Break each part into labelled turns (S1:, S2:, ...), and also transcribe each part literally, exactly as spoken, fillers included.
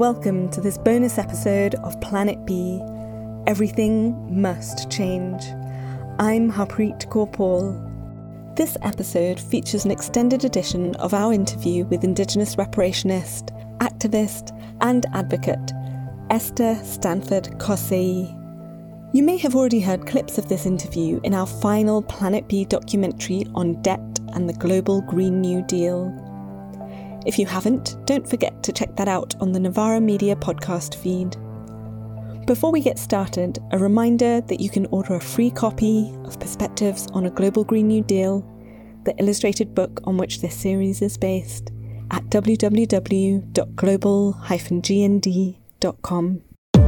S1: Welcome to this bonus episode of Planet B, Everything Must Change. I'm Harpreet Kaur Paul. This episode features an extended edition of our interview with Indigenous reparationist, activist and advocate Esther Stanford Kosei. You may have already heard clips of this interview in our final Planet B documentary on debt and the global Green New Deal. If you haven't, don't forget to check that out on the Novara Media podcast feed. Before we get started, a reminder that you can order a free copy of Perspectives on a Global Green New Deal, the illustrated book on which this series is based, at w w w dot global dash g n d dot com.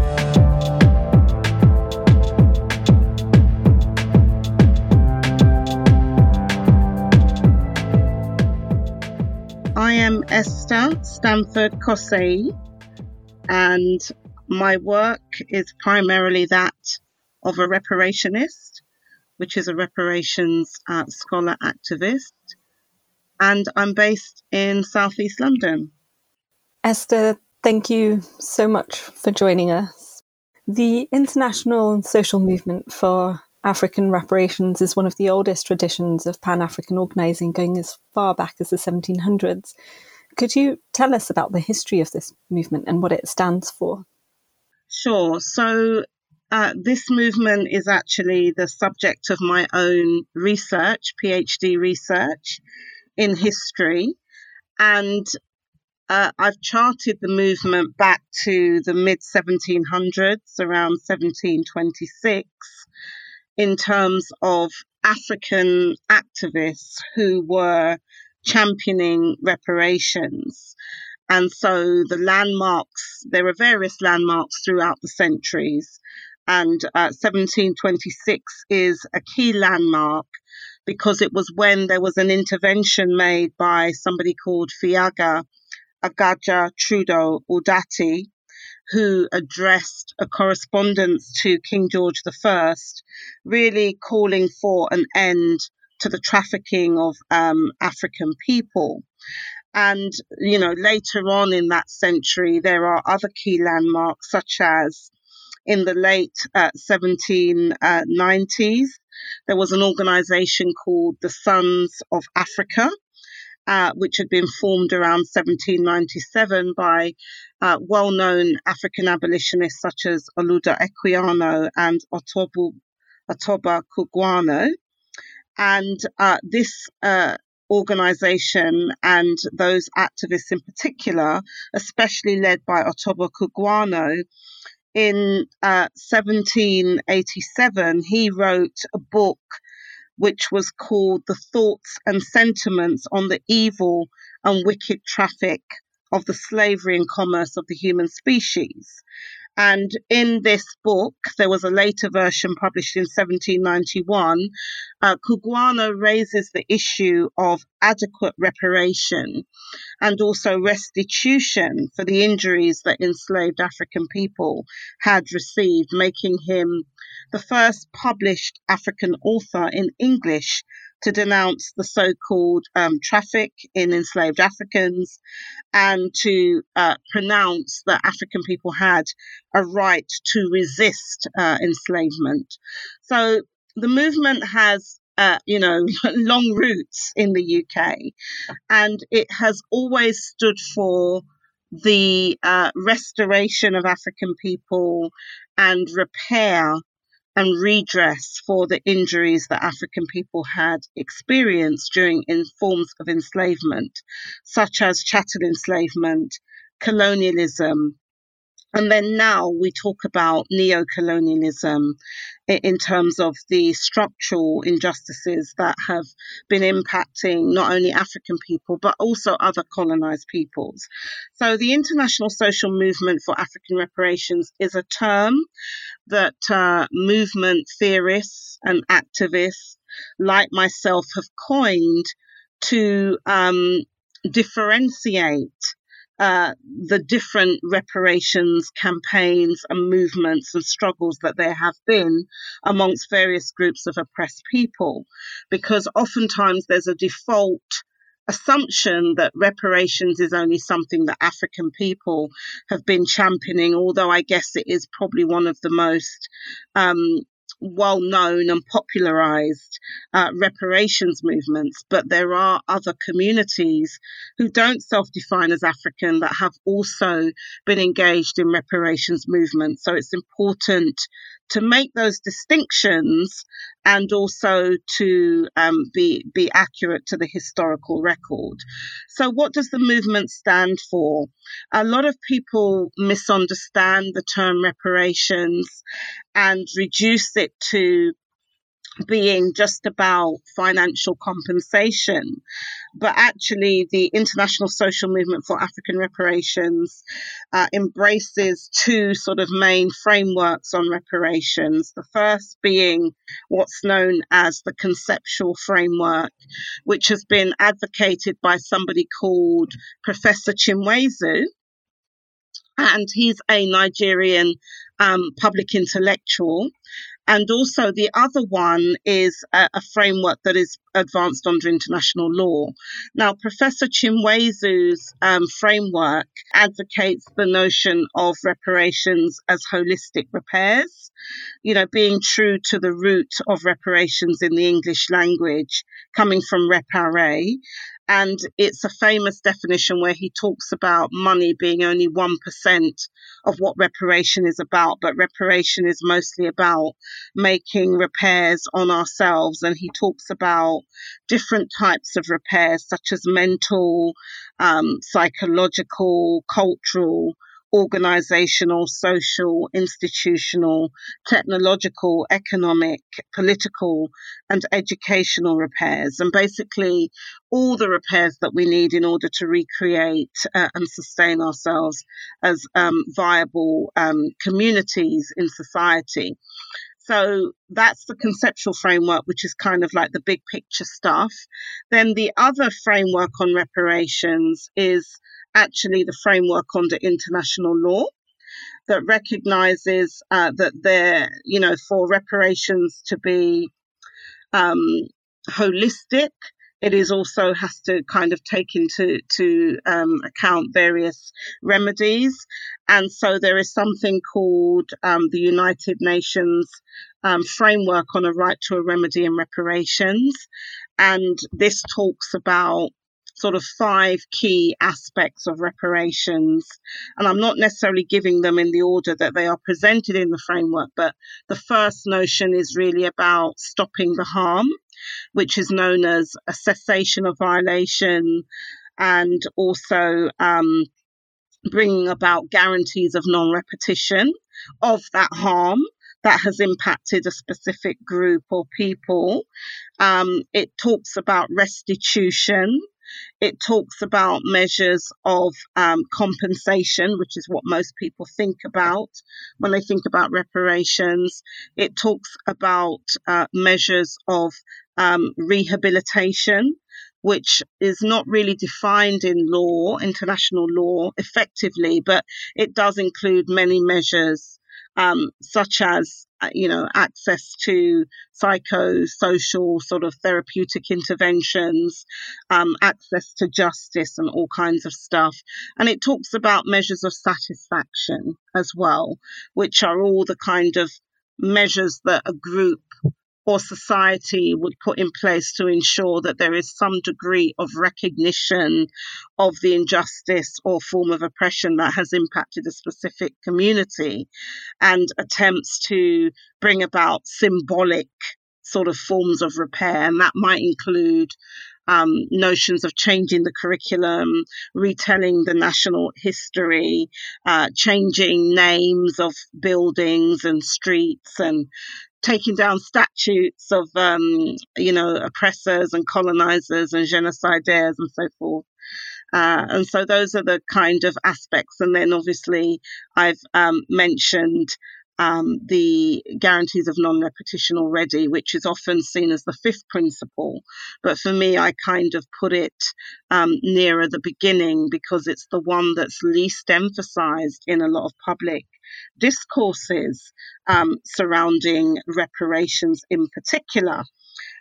S2: I am Esther Stanford Kosei, and my work is primarily that of a reparationist, which is a reparations uh, scholar activist, and I'm based in southeast London.
S1: Esther, thank you so much for joining us. The international social movement for African reparations is one of the oldest traditions of Pan-African organising, going as far back as the seventeen hundreds. Could you tell us about the history of this movement and what it stands for?
S2: Sure. So uh, this movement is actually the subject of my own research, PhD research in history. And uh, I've charted the movement back to the mid seventeen hundreds, around seventeen twenty-six, in terms of African activists who were championing reparations. And so the landmarks, there are various landmarks throughout the centuries. And uh, seventeen twenty-six is a key landmark because it was when there was an intervention made by somebody called Fiaga Agaja Trudeau Udati, who addressed a correspondence to King George the First, really calling for an end to the trafficking of um, African people. And, you know, later on in that century, there are other key landmarks, such as in the late uh, seventeen nineties, there was an organization called the Sons of Africa, Uh, which had been formed around seventeen ninety-seven by uh, well-known African abolitionists such as Oluda Equiano and Otobu, Otoba Kugwano. And uh, this uh, organization and those activists in particular, especially led by Otoba Kugwano, in uh, seventeen eighty-seven, he wrote a book which was called The Thoughts and Sentiments on the Evil and Wicked Traffic of the Slavery and Commerce of the Human Species. And in this book, there was a later version published in seventeen ninety-one, uh, Kugwano raises the issue of adequate reparation and also restitution for the injuries that enslaved African people had received, making him the first published African author in English to denounce the so-called um, traffic in enslaved Africans and to uh, pronounce that African people had a right to resist uh, enslavement. So the movement has, uh, you know, long roots in the U K, and it has always stood for the uh, restoration of African people and repair and redress for the injuries that African people had experienced during in forms of enslavement, such as chattel enslavement, colonialism, and then now we talk about neo-colonialism in terms of the structural injustices that have been impacting not only African people, but also other colonized peoples. So the International Social Movement for African Reparations is a term that uh, movement theorists and activists like myself have coined to um, differentiate Uh, the different reparations campaigns and movements and struggles that there have been amongst various groups of oppressed people, because oftentimes there's a default assumption that reparations is only something that African people have been championing, although I guess it is probably one of the most um, well-known and popularized uh, reparations movements. But there are other communities who don't self-define as African that have also been engaged in reparations movements. So it's important to make those distinctions and also to um, be be accurate to the historical record. So what does the movement stand for? A lot of people misunderstand the term reparations and reduce it to being just about financial compensation. But actually, the International Social Movement for African Reparations uh, embraces two sort of main frameworks on reparations. The first being what's known as the conceptual framework, which has been advocated by somebody called Professor Chinweizu. And he's a Nigerian um, public intellectual. And also the other one is a, a framework that is advanced under international law. Now, Professor Chinweizu's um, framework advocates the notion of reparations as holistic repairs, you know, being true to the root of reparations in the English language, coming from reparer. And it's a famous definition where he talks about money being only one percent of what reparation is about, but reparation is mostly about making repairs on ourselves. And he talks about different types of repairs, such as mental, um, psychological, cultural, organizational, social, institutional, technological, economic, political, and educational repairs. And basically all the repairs that we need in order to recreate uh, and sustain ourselves as um, viable um, communities in society. So that's the conceptual framework, which is kind of like the big picture stuff. Then the other framework on reparations is actually the framework under international law that recognizes uh, that there, you know, for reparations to be um, holistic, it is also has to kind of take into to um, account various remedies. And so there is something called um, the United Nations um, framework on a right to a remedy and reparations. And this talks about sort of five key aspects of reparations. And I'm not necessarily giving them in the order that they are presented in the framework, but the first notion is really about stopping the harm, which is known as a cessation of violation, and also um, bringing about guarantees of non-repetition of that harm that has impacted a specific group or people. Um, it talks about restitution. It talks about measures of um, compensation, which is what most people think about when they think about reparations. It talks about uh, measures of um, rehabilitation, which is not really defined in law, international law, effectively, but it does include many measures, um, such as, you know, access to psychosocial sort of therapeutic interventions, um, access to justice and all kinds of stuff. And it talks about measures of satisfaction as well, which are all the kind of measures that a group or society would put in place to ensure that there is some degree of recognition of the injustice or form of oppression that has impacted a specific community, and attempts to bring about symbolic sort of forms of repair. And that might include um, notions of changing the curriculum, retelling the national history, uh, changing names of buildings and streets, and taking down statutes of, um, you know, oppressors and colonizers and genocidaires and so forth. Uh, and so those are the kind of aspects. And then obviously I've um, mentioned um, the guarantees of non-repetition already, which is often seen as the fifth principle. But for me, I kind of put it um, nearer the beginning because it's the one that's least emphasized in a lot of public discourses um, surrounding reparations in particular.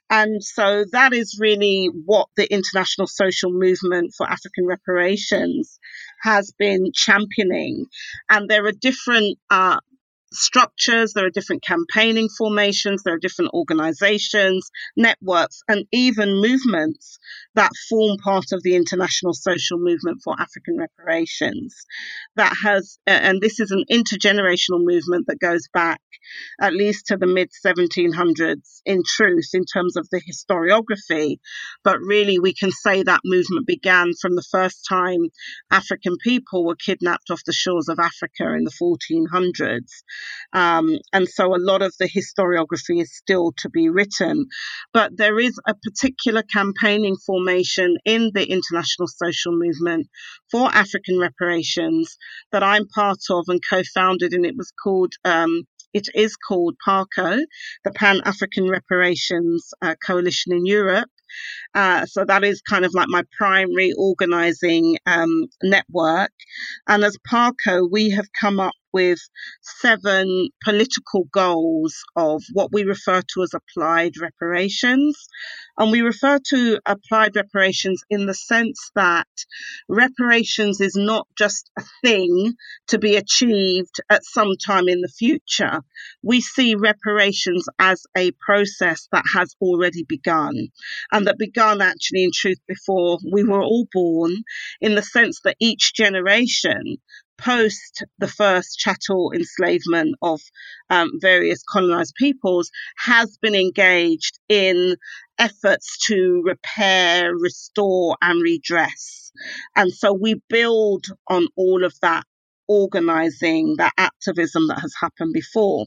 S2: And so that is really what the International Social Movement for African Reparations has been championing. And there are different uh, structures, there are different campaigning formations, there are different organizations, networks, and even movements that form part of the International Social Movement for African Reparations. That has, and this is an intergenerational movement that goes back at least to the mid seventeen hundreds in truth, in terms of the historiography. But really, we can say that movement began from the first time African people were kidnapped off the shores of Africa in the fourteen hundreds. Um, and so a lot of the historiography is still to be written. But there is a particular campaigning formation in the International Social Movement for African Reparations that I'm part of and co-founded, and it was called um, It is called PARCO, the Pan-African Reparations uh, Coalition in Europe. Uh, so that is kind of like my primary organizing um, network. And as PARCO, we have come up with seven political goals of what we refer to as applied reparations. And we refer to applied reparations in the sense that reparations is not just a thing to be achieved at some time in the future. We see reparations as a process that has already begun, and that began actually in truth before we were all born, in the sense that each generation post the first chattel enslavement of um, various colonized peoples has been engaged in efforts to repair, restore, and redress. And so we build on all of that organizing, that activism that has happened before.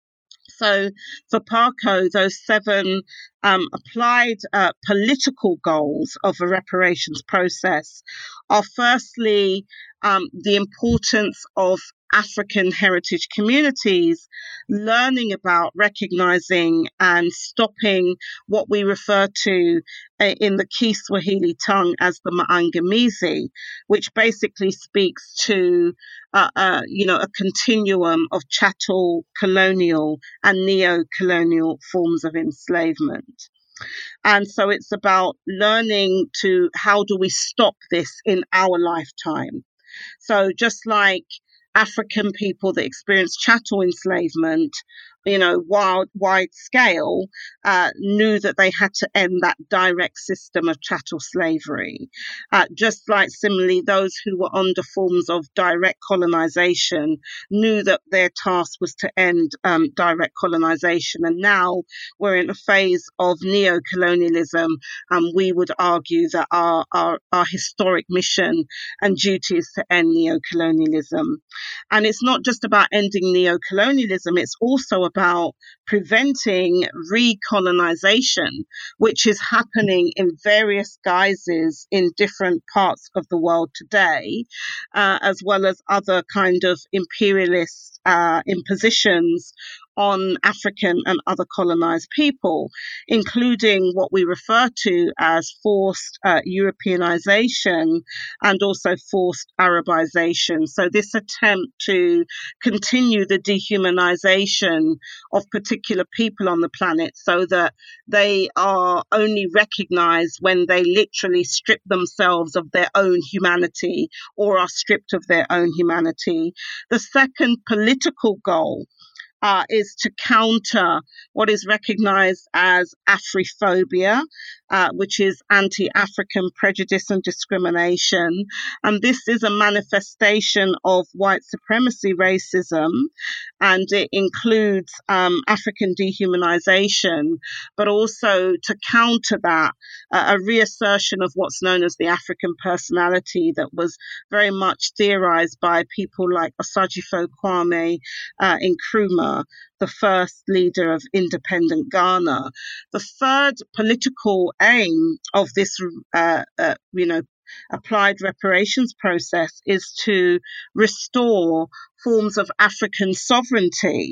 S2: So for PARCO, those seven um, applied uh, political goals of a reparations process are firstly um, the importance of African heritage communities learning about, recognizing, and stopping what we refer to uh, in the Kiswahili tongue as the Maangamizi, which basically speaks to uh, uh, you know, a continuum of chattel, colonial, and neo-colonial forms of enslavement. And so it's about learning to how do we stop this in our lifetime. So just like African people that experienced chattel enslavement, you know, wide, wide scale, uh, knew that they had to end that direct system of chattel slavery. Uh, just like similarly, those who were under forms of direct colonization knew that their task was to end um, direct colonization. And now we're in a phase of neo-colonialism, and we would argue that our, our, our historic mission and duty is to end neo-colonialism. And it's not just about ending neo-colonialism, it's also about preventing recolonization, which is happening in various guises in different parts of the world today, uh, as well as other kind of imperialist uh, impositions on African and other colonized people, including what we refer to as forced uh, Europeanization and also forced Arabization. So this attempt to continue the dehumanization of particular people on the planet so that they are only recognized when they literally strip themselves of their own humanity or are stripped of their own humanity. The second political goal Uh, is to counter what is recognized as Afrophobia, uh, which is anti-African prejudice and discrimination. And this is a manifestation of white supremacy racism, and it includes um, African dehumanization, but also to counter that, uh, a reassertion of what's known as the African personality that was very much theorized by people like Osagyefo Kwame uh, Nkrumah, the first leader of independent Ghana. The third political aim of this, uh, uh, you know, applied reparations process is to restore forms of African sovereignty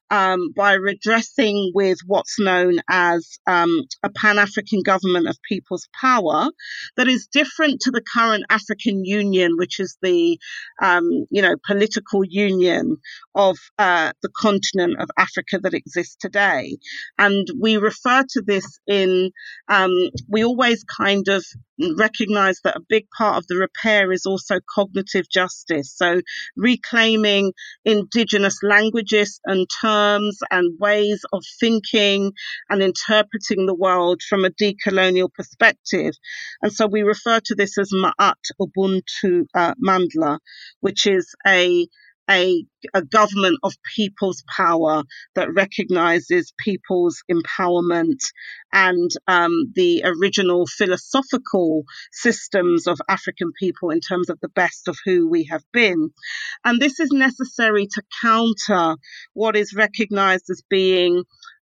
S2: um, by redressing with what's known as um, a Pan-African government of people's power that is different to the current African Union, which is the, um, you know, political union of uh, the continent of Africa that exists today. And we refer to this in, um, we always kind of recognize that a big part of the repair is also cognitive justice. So reclaiming indigenous languages and terms and ways of thinking and interpreting the world from a decolonial perspective. And so we refer to this as Ma'at Ubuntu uh, Mandla, which is a A, a government of people's power that recognizes people's empowerment and um, the original philosophical systems of African people in terms of the best of who we have been. And this is necessary to counter what is recognized as being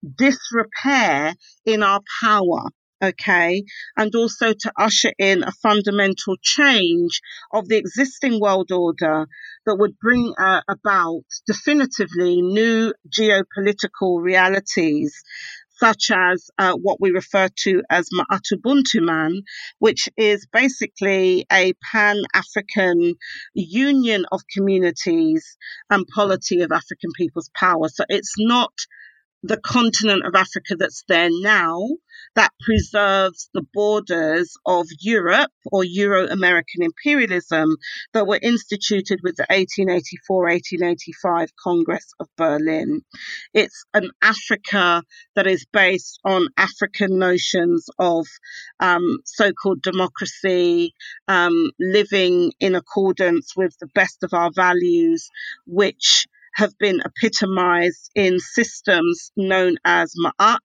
S2: disrepair in our power. Okay, and also to usher in a fundamental change of the existing world order that would bring uh, about definitively new geopolitical realities, such as uh, what we refer to as Ma'atubuntuman, which is basically a Pan-African union of communities and polity of African people's power. So it's not the continent of Africa that's there now that preserves the borders of Europe or Euro-American imperialism that were instituted with the eighteen eighty-four eighteen eighty-five Congress of Berlin. It's an Africa that is based on African notions of um, so-called democracy, um, living in accordance with the best of our values, which have been epitomized in systems known as Ma'at,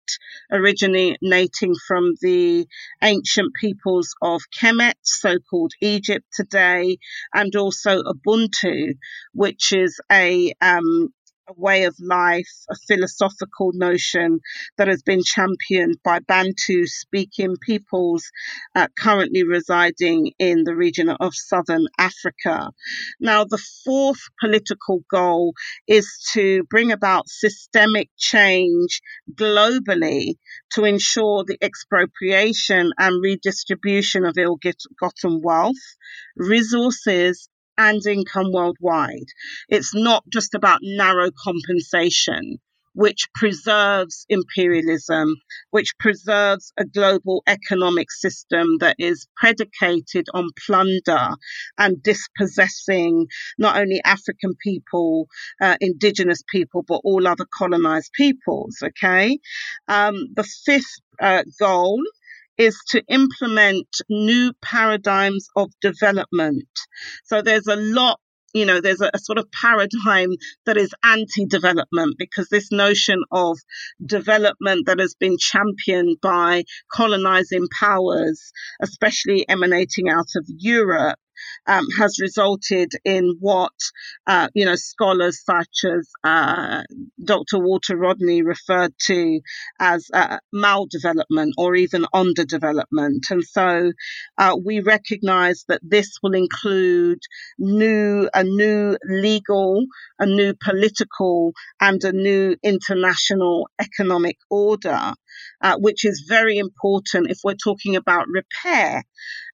S2: originating from the ancient peoples of Kemet, so-called Egypt today, and also Ubuntu, which is a um, a way of life, a philosophical notion that has been championed by Bantu-speaking peoples uh, currently residing in the region of southern Africa. Now, the fourth political goal is to bring about systemic change globally to ensure the expropriation and redistribution of ill-gotten wealth, resources, and income worldwide. It's not just about narrow compensation, which preserves imperialism, which preserves a global economic system that is predicated on plunder and dispossessing not only African people, uh, indigenous people, but all other colonized peoples, okay? Um, the fifth uh, goal is to implement new paradigms of development. So there's a lot, you know, there's a, a sort of paradigm that is anti-development, because this notion of development that has been championed by colonizing powers, especially emanating out of Europe, Um, has resulted in what, uh, you know, scholars such as uh, Doctor Walter Rodney referred to as uh, maldevelopment or even underdevelopment. And so uh, we recognize that this will include new, a new legal, a new political, and a new international economic order, uh, which is very important if we're talking about repair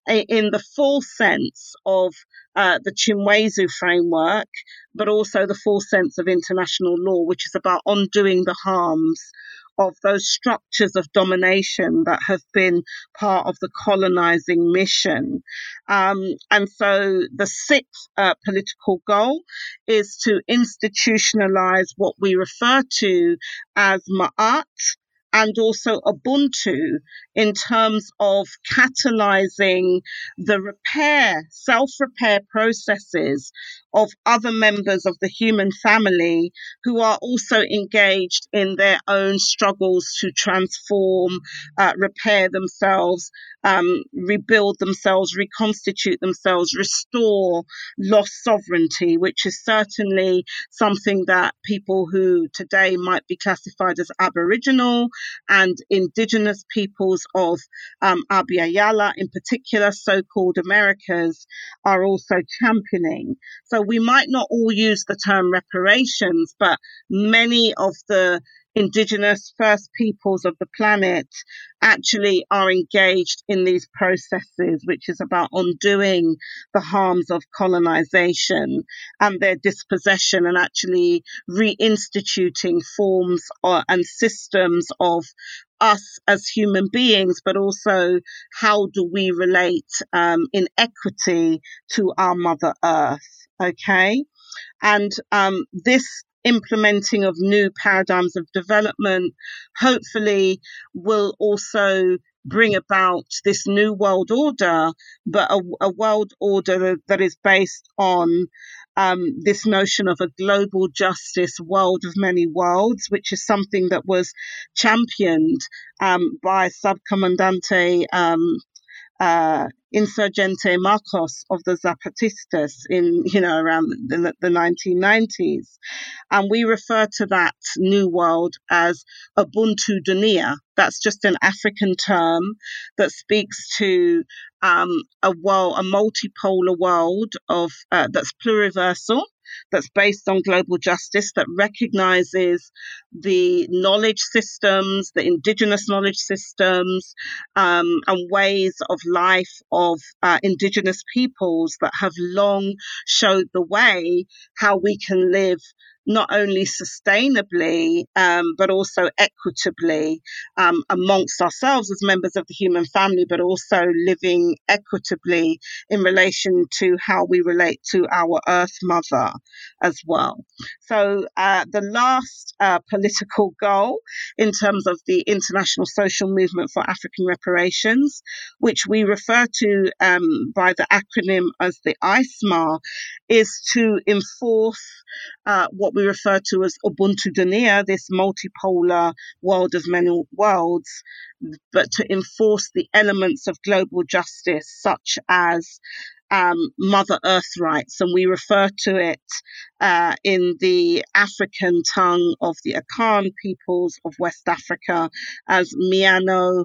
S2: in the full sense of uh, the Chimwezu framework, but also the full sense of international law, which is about undoing the harms of those structures of domination that have been part of the colonizing mission. Um, and so the sixth uh, political goal is to institutionalize what we refer to as Ma'at, and also Ubuntu in terms of catalyzing the repair, self-repair processes of other members of the human family who are also engaged in their own struggles to transform, uh, repair themselves, um, rebuild themselves, reconstitute themselves, restore lost sovereignty, which is certainly something that people who today might be classified as Aboriginal and Indigenous peoples of um, Abya Yala, in particular, so-called Americas, are also championing. So we might not all use the term reparations, but many of the Indigenous First Peoples of the planet actually are engaged in these processes, which is about undoing the harms of colonization and their dispossession, and actually reinstituting forms or, and systems of us as human beings, but also how do we relate um, in equity to our Mother Earth, okay? And um, this implementing of new paradigms of development hopefully will also bring about this new world order, but a, a world order that is based on um, this notion of a global justice world of many worlds, which is something that was championed um, by Subcomandante um, uh, Insurgente Marcos of the Zapatistas in, you know, around the, the nineteen nineties. And we refer to that new world as Ubuntu Dunia. That's just an African term that speaks to um, a world, a multipolar world of uh, that's pluriversal, that's based on global justice, that recognizes the knowledge systems, the indigenous knowledge systems, um, and ways of life of uh, indigenous peoples that have long showed the way how we can live not only sustainably, um, but also equitably um, amongst ourselves as members of the human family, but also living equitably in relation to how we relate to our Earth Mother as well. So uh, the last uh, political goal in terms of the International Social Movement for African Reparations, which we refer to um, by the acronym as the I S M A, is to enforce uh, what we refer to as Ubuntu Dunia, this multipolar world of many worlds, but to enforce the elements of global justice, such as um, Mother Earth rights. And we refer to it uh, in the African tongue of the Akan peoples of West Africa as Miano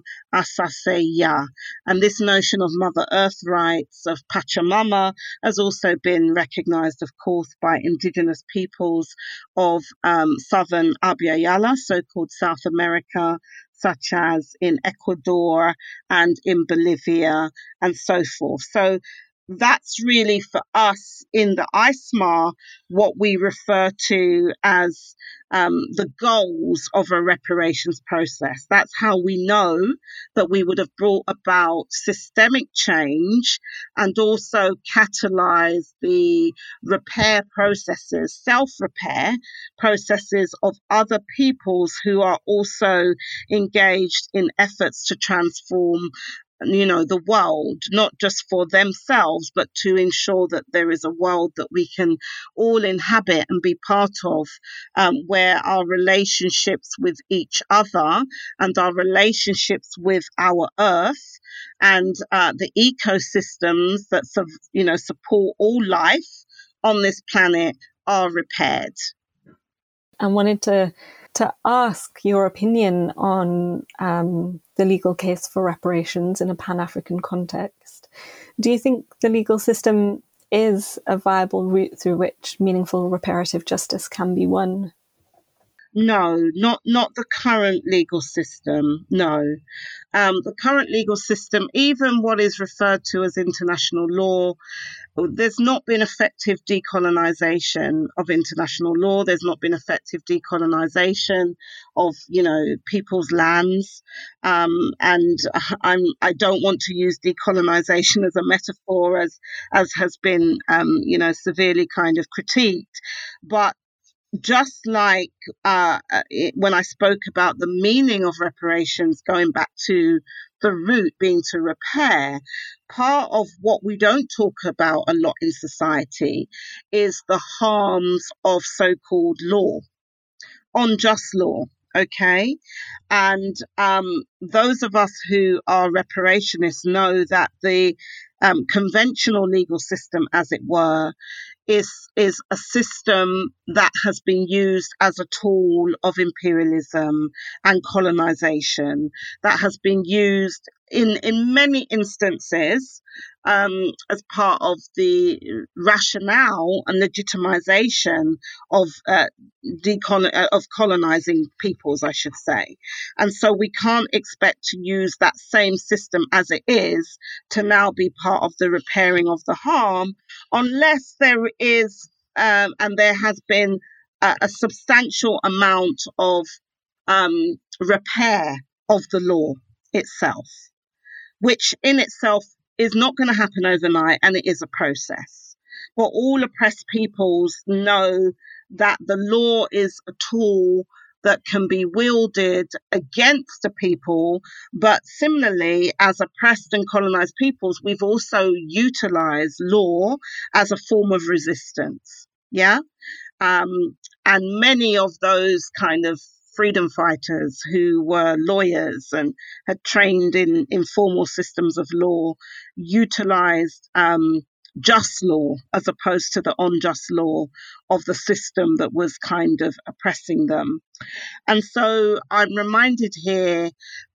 S2: Asaseya. And this notion of Mother Earth rights, of Pachamama, has also been recognized, of course, by indigenous peoples of um, southern Abya Yala, so-called South America, such as in Ecuador and in Bolivia and so forth. So that's really for us in the I S M A what we refer to as um, the goals of a reparations process. That's how we know that we would have brought about systemic change and also catalyze the repair processes, self-repair processes of other peoples who are also engaged in efforts to transform, you know, the world, not just for themselves, but to ensure that there is a world that we can all inhabit and be part of, um, where our relationships with each other and our relationships with our Earth and uh, the ecosystems that, you know, support all life on this planet are repaired.
S1: I wanted to to ask your opinion on um, the legal case for reparations in a Pan-African context. Do you think the legal system is a viable route through which meaningful reparative justice can be won?
S2: No, not not the current legal system, no. Um, the current legal system, even what is referred to as international law, there's not been effective decolonization of international law. There's not been effective decolonization of, you know, people's lands. Um, and I'm, I don't want to use decolonization as a metaphor, as, as has been, um, you know, severely kind of critiqued. But just like uh, it, when I spoke about the meaning of reparations, going back to the root being to repair, part of what we don't talk about a lot in society is the harms of so-called law, unjust law. Okay. And um, those of us who are reparationists know that the um, conventional legal system, as it were, is is a system that has been used as a tool of imperialism and colonization, that has been used in in many instances um, as part of the rationale and legitimization of uh, decon- uh, of colonizing peoples, I should say. And so we can't expect to use that same system as it is to now be part of the repairing of the harm, unless there is um, and there has been a, a substantial amount of um, repair of the law itself, which in itself is not going to happen overnight, and it is a process. But all oppressed peoples know that the law is a tool that can be wielded against a people, but similarly, as oppressed and colonized peoples, we've also utilized law as a form of resistance. Yeah. Um, and many of those kind of freedom fighters who were lawyers and had trained in informal systems of law utilized um, just law as opposed to the unjust law of the system that was kind of oppressing them. And so I'm reminded here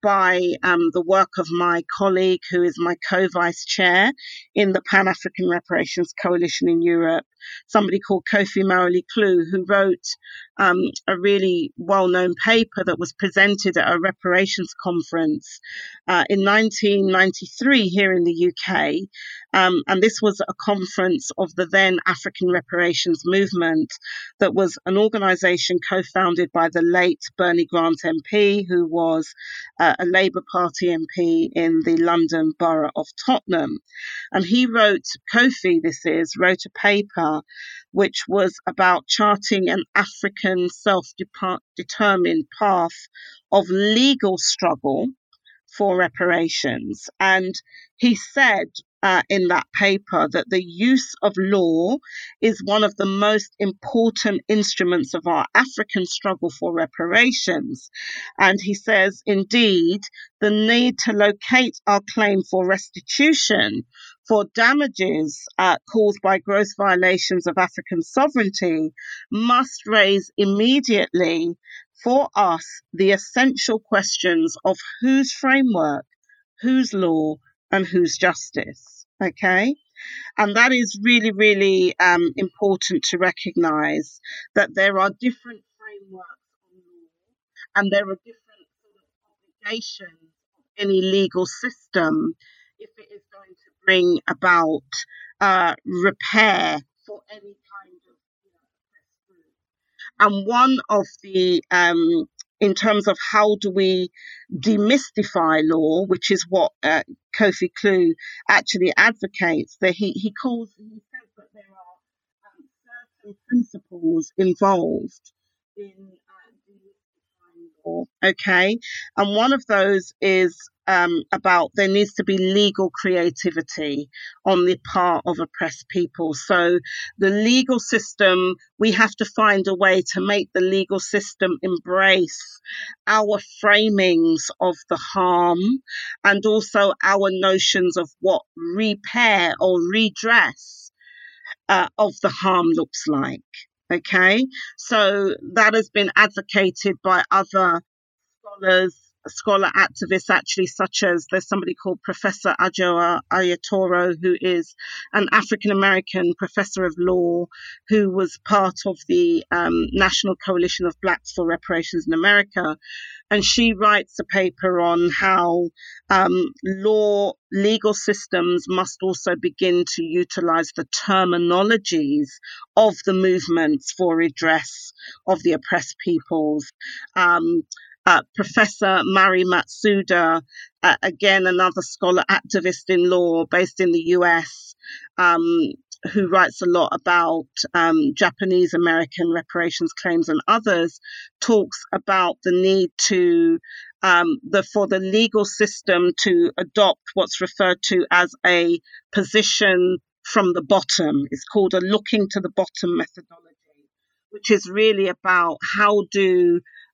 S2: by um, the work of my colleague, who is my co-vice chair in the Pan-African Reparations Coalition in Europe, somebody called Kofi Mawuli-Klue, who wrote um, a really well-known paper that was presented at a reparations conference uh, in nineteen ninety-three here in the U K. Um, and this was a conference of the then African Reparations Movement, that was an organisation co-founded by the late Bernie Grant M P, who was uh, a Labour Party M P in the London Borough of Tottenham. And he wrote, Kofi this is, wrote a paper which was about charting an African self-determined path of legal struggle for reparations. And he said uh, in that paper that the use of law is one of the most important instruments of our African struggle for reparations. And he says, indeed, the need to locate our claim for restitution for damages uh, caused by gross violations of African sovereignty must raise immediately for us the essential questions of whose framework, whose law, and whose justice. Okay? And that is really, really um, important to recognize that there are different frameworks on law, and there are different sort of obligations of any legal system if it is going to bring about uh, repair for any kind of, you know, oppressed group. And one of the, um, in terms of how do we demystify law, which is what uh, Kofi Klue actually advocates, that he, he calls, he says that there are um, certain principles involved in uh, demystifying law. Okay. And one of those is um, about there needs to be legal creativity on the part of oppressed people. So the legal system, we have to find a way to make the legal system embrace our framings of the harm and also our notions of what repair or redress uh, of the harm looks like. Okay, so that has been advocated by other scholars, scholar activists actually, such as there's somebody called Professor Ajo Ayatoro, who is an African-American professor of law who was part of the um, National Coalition of Blacks for Reparations in America. And she writes a paper on how um, law, legal systems must also begin to utilize the terminologies of the movements for redress of the oppressed peoples. Um, Uh, Professor Mari Matsuda, uh, again, another scholar activist in law based in the U S, um, who writes a lot about um, Japanese American reparations claims and others, talks about the need to, um, the, for the legal system to adopt what's referred to as a position from the bottom. It's called a looking to the bottom methodology, which is really about how do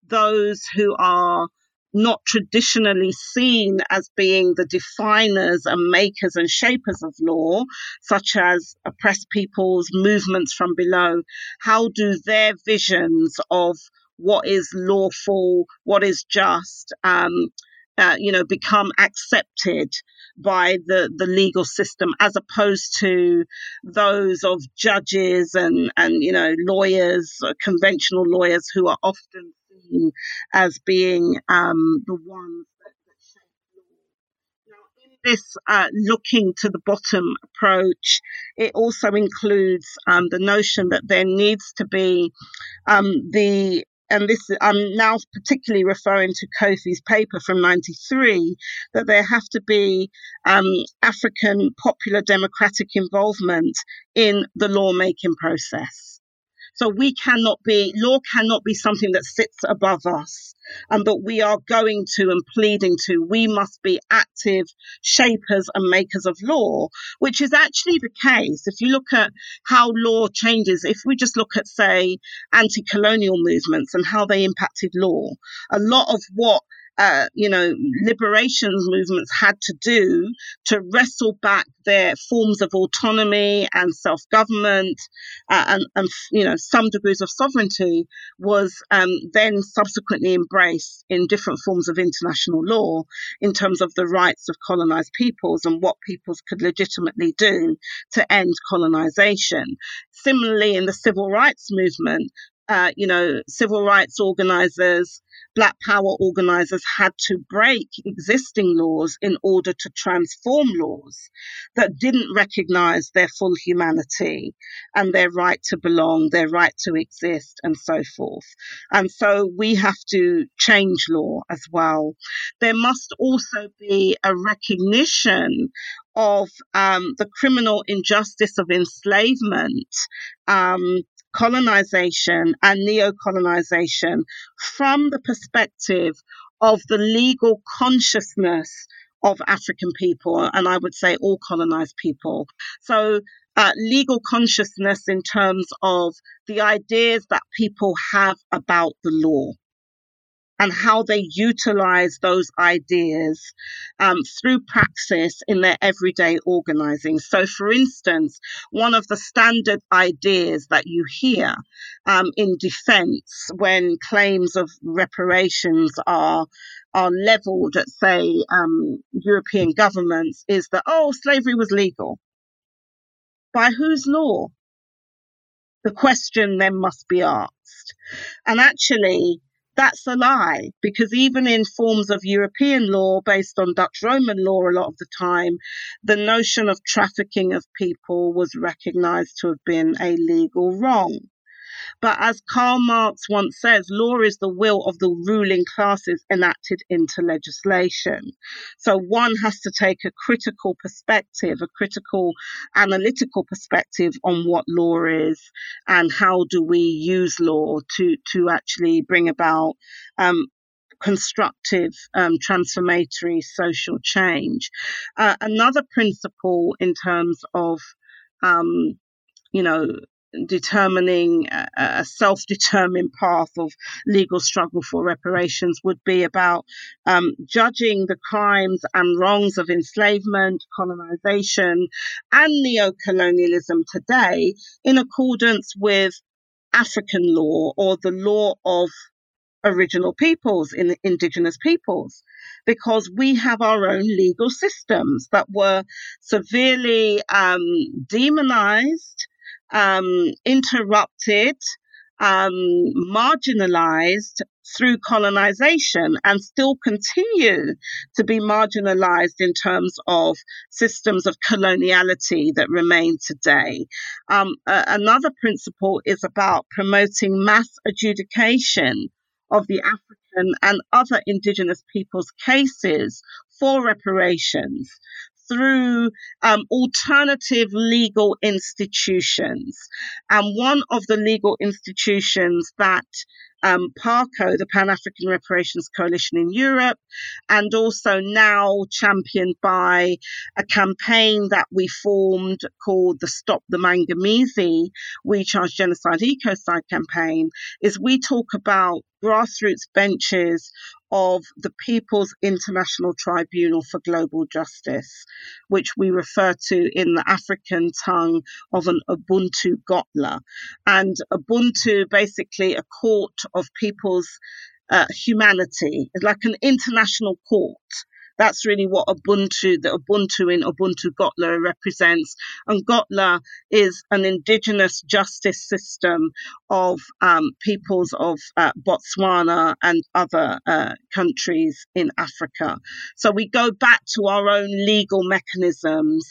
S2: those who are not traditionally seen as being the definers and makers and shapers of law, such as oppressed peoples, movements from below, how do their visions of what is lawful, what is just, um, uh, you know, become accepted by the, the legal system, as opposed to those of judges and, and, you know, lawyers, conventional lawyers, who are often seen as being um, the ones that, that shape law. Now, in this uh, looking to the bottom approach, it also includes um, the notion that there needs to be um, the and this, I'm now particularly referring to Kofi's paper from ninety-three, that there have to be um, African popular democratic involvement in the lawmaking process. So we cannot be, law cannot be something that sits above us and that we are going to and pleading to. We must be active shapers and makers of law, which is actually the case. If you look at how law changes, if we just look at, say, anti-colonial movements and how they impacted law, a lot of what Uh, you know, liberation movements had to do to wrestle back their forms of autonomy and self-government uh, and, and, you know, some degrees of sovereignty was um, then subsequently embraced in different forms of international law in terms of the rights of colonized peoples and what peoples could legitimately do to end colonization. Similarly, in the civil rights movement, uh, you know, civil rights organizers, Black Power organizers had to break existing laws in order to transform laws that didn't recognize their full humanity and their right to belong, their right to exist, and so forth. And so we have to change law as well. There must also be a recognition of um, the criminal injustice of enslavement, um, colonization and neo-colonization from the perspective of the legal consciousness of African people, and I would say all colonized people. So uh, legal consciousness in terms of the ideas that people have about the law and how they utilize those ideas um, through praxis in their everyday organizing. So, for instance, one of the standard ideas that you hear um, in defense when claims of reparations are are leveled at, say, um, European governments is that, oh, slavery was legal. By whose law? The question then must be asked. And actually, that's a lie, because even in forms of European law based on Dutch Roman law, a lot of the time, the notion of trafficking of people was recognized to have been a legal wrong. But as Karl Marx once says, law is the will of the ruling classes enacted into legislation. So one has to take a critical perspective, a critical analytical perspective on what law is and how do we use law to, to actually bring about um, constructive, um, transformatory social change. Uh, another principle in terms of, um, you know, determining a, a self-determined path of legal struggle for reparations would be about um, judging the crimes and wrongs of enslavement, colonization, and neo-colonialism today in accordance with African law or the law of original peoples, in indigenous peoples, because we have our own legal systems that were severely um, demonized, um, interrupted, um, marginalized through colonization, and still continue to be marginalized in terms of systems of coloniality that remain today. Um, uh, another principle is about promoting mass adjudication of the African and other indigenous peoples' cases for reparations through um, alternative legal institutions. And one of the legal institutions that um, PARCO, the Pan-African Reparations Coalition in Europe, and also now championed by a campaign that we formed called the Stop the Mangamizi We Charge Genocide Ecocide campaign, is we talk about grassroots benches of the People's International Tribunal for Global Justice, which we refer to in the African tongue of an Ubuntu Gotla. And Ubuntu, basically a court of people's uh, humanity, is like an international court. That's really what Ubuntu, the Ubuntu in Ubuntu Gotla represents. And Gotla is an indigenous justice system of um, peoples of uh, Botswana and other uh, countries in Africa. So we go back to our own legal mechanisms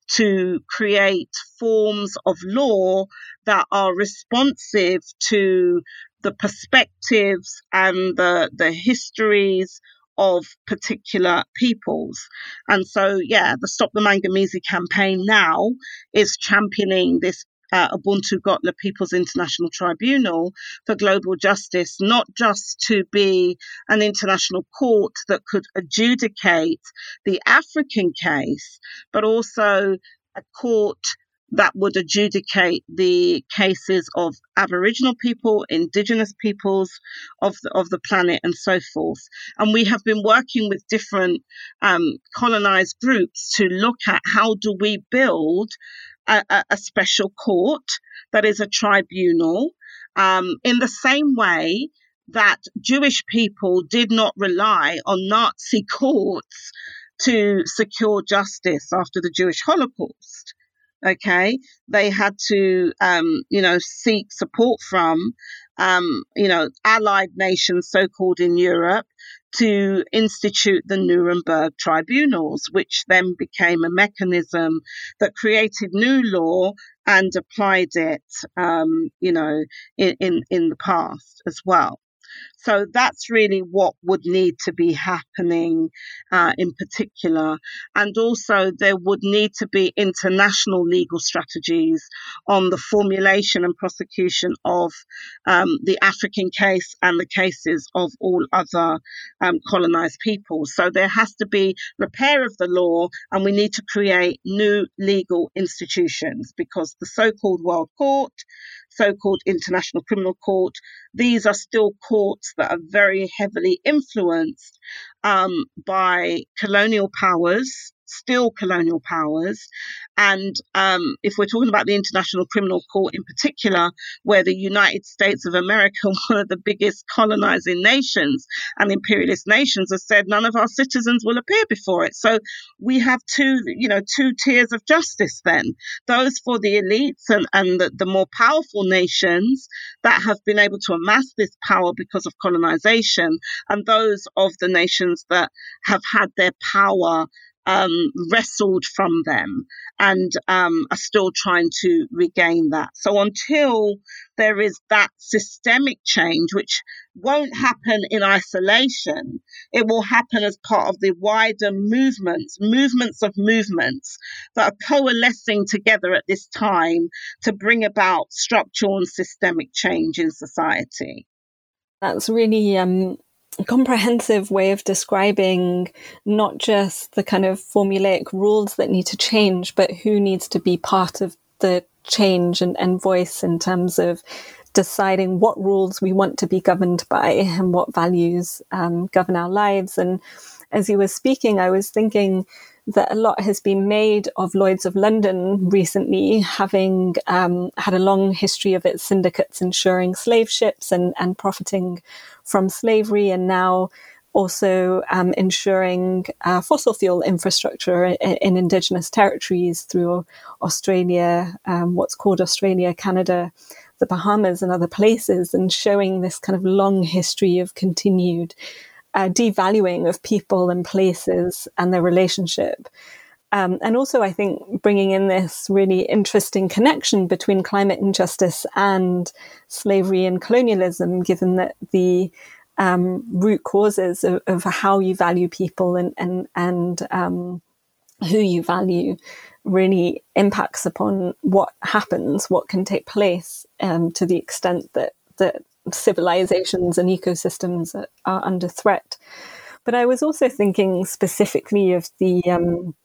S2: to create forms of law that are responsive to the perspectives and the, the histories of particular peoples. And so, yeah, the Stop the Mangamizi campaign now is championing this uh, Ubuntu Gotla People's International Tribunal for Global Justice, not just to be an international court that could adjudicate the African case, but also a court that would adjudicate the cases of Aboriginal people, Indigenous peoples of the, of the planet, and so forth. And we have been working with different um, colonized groups to look at how do we build a, a, a special court that is a tribunal, um, in the same way that Jewish people did not rely on Nazi courts to secure justice after the Jewish Holocaust. Okay, they had to, um, you know, seek support from, um, you know, allied nations, so-called in Europe, to institute the Nuremberg tribunals, which then became a mechanism that created new law and applied it, um, you know, in, in, in the past as well. So that's really what would need to be happening uh, in particular. And also there would need to be international legal strategies on the formulation and prosecution of um, the African case and the cases of all other um, colonized peoples. So there has to be repair of the law, and we need to create new legal institutions, because the so-called World Court, so-called International Criminal Court, these are still courts that are very heavily influenced um, by colonial powers, still colonial powers. And um, if we're talking about the International Criminal Court in particular, where the United States of America, one of the biggest colonizing nations and imperialist nations, has said none of our citizens will appear before it. So we have two, you know, two tiers of justice then. Those for the elites and, and the, the more powerful nations that have been able to amass this power because of colonization, and those of the nations that have had their power Um, wrestled from them and um, are still trying to regain that. So until there is that systemic change, which won't happen in isolation, it will happen as part of the wider movements, movements of movements that are coalescing together at this time to bring about structural and systemic change in society.
S1: That's really um, a comprehensive way of describing not just the kind of formulaic rules that need to change, but who needs to be part of the change and, and voice in terms of deciding what rules we want to be governed by and what values um, govern our lives. And as you were speaking, I was thinking that a lot has been made of Lloyd's of London recently, having um, had a long history of its syndicates insuring slave ships and, and profiting from slavery, and now also um, ensuring uh, fossil fuel infrastructure in, in Indigenous territories through Australia, um, what's called Australia, Canada, the Bahamas and other places, and showing this kind of long history of continued uh, devaluing of people and places and their relationship. Um, and also, I think, bringing in this really interesting connection between climate injustice and slavery and colonialism, given that the um, root causes of, of how you value people and and, and um, who you value really impacts upon what happens, what can take place, um, to the extent that, that civilizations and ecosystems are, are under threat. But I was also thinking specifically of the... Um,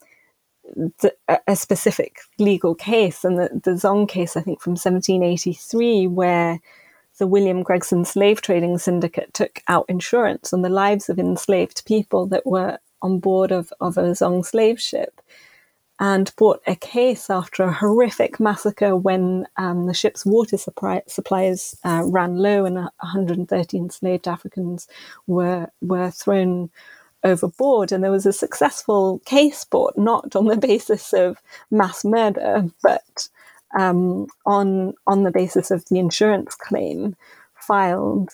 S1: The, a specific legal case, and the, the Zong case, I think from seventeen eighty-three, where the William Gregson Slave Trading Syndicate took out insurance on the lives of enslaved people that were on board of, of a Zong slave ship, and brought a case after a horrific massacre when um, the ship's water supply, supplies uh, ran low and one hundred thirty enslaved Africans were were thrown overboard. And there was a successful case brought, not on the basis of mass murder, but um, on on the basis of the insurance claim filed.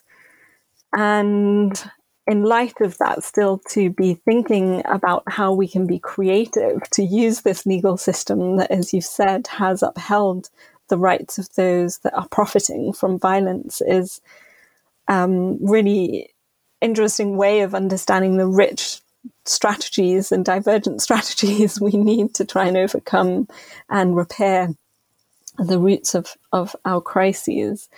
S1: And in light of that, still to be thinking about how we can be creative to use this legal system that, as you've said, has upheld the rights of those that are profiting from violence is um, really interesting way of understanding the rich strategies and divergent strategies we need to try and overcome and repair the roots of, of our crises.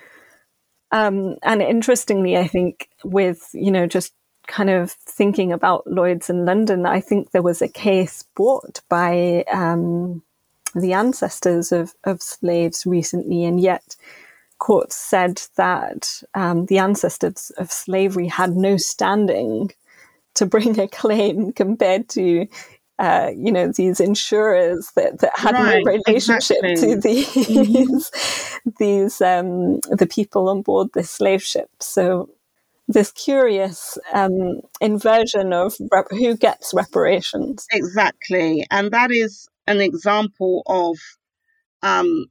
S1: Um, and interestingly, I think with, you know, just kind of thinking about Lloyd's in London, I think there was a case brought by um, the ancestors of, of slaves recently, and yet courts said that um, the ancestors of slavery had no standing to bring a claim compared to Uh, you know, these insurers that, that had
S2: right,
S1: no relationship
S2: exactly.
S1: to these mm-hmm. these um, the people on board this slave ship. So this curious um, inversion of rep- who gets reparations.
S2: Exactly, and that is an example of um,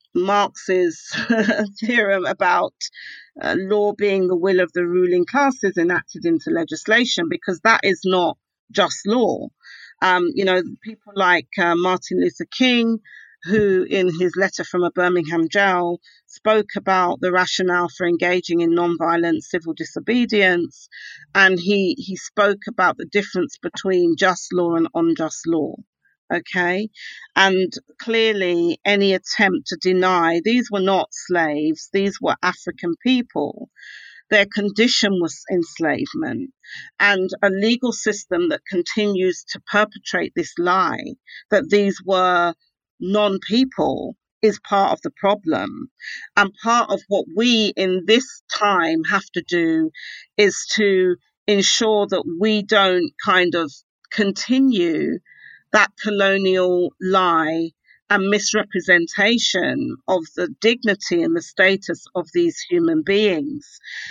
S2: Marx's theorem about uh, law being the will of the ruling classes enacted into legislation, because that is not just law. Um, you know, people like uh, Martin Luther King, who in his letter from a Birmingham jail spoke about the rationale for engaging in non-violent civil disobedience, and he, he spoke about the difference between just law and unjust law. Okay, and clearly any attempt to deny these were not slaves, these were African people. Their condition was enslavement, and a legal system that continues to perpetrate this lie that these were non-people is part of the problem. And part of what we in this time have to do is to ensure that we don't kind of continue that colonial lie and misrepresentation of the dignity and the status of these human beings.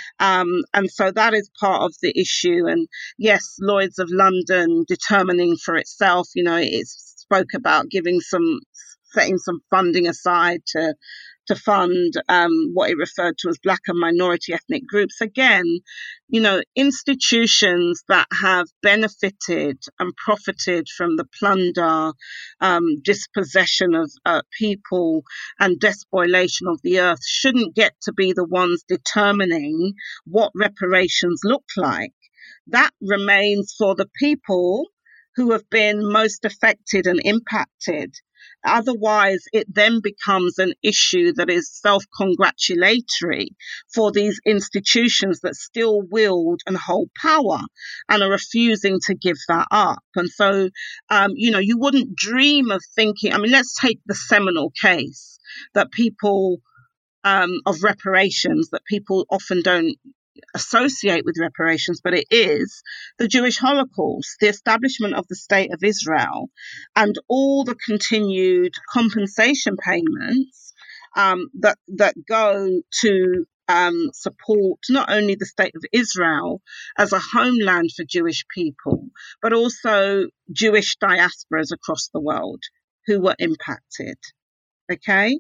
S2: Um, and so that is part of the issue. And yes, Lloyd's of London determining for itself, you know, it spoke about giving some, setting some funding aside to to fund um, what it referred to as Black and minority ethnic groups. Again, you know, institutions that have benefited and profited from the plunder, um, dispossession of uh, people and despoilation of the earth shouldn't get to be the ones determining what reparations look like. That remains for the people who have been most affected and impacted. Otherwise, it then becomes an issue that is self-congratulatory for these institutions that still wield and hold power and are refusing to give that up. And so, um, you know, you wouldn't dream of thinking, I mean, let's take the seminal case that people um, of reparations that people often don't associate with reparations, but it is the Jewish Holocaust, the establishment of the State of Israel, and all the continued compensation payments um, that that go to um, support not only the State of Israel as a homeland for Jewish people, but also Jewish diasporas across the world who were impacted. Okay,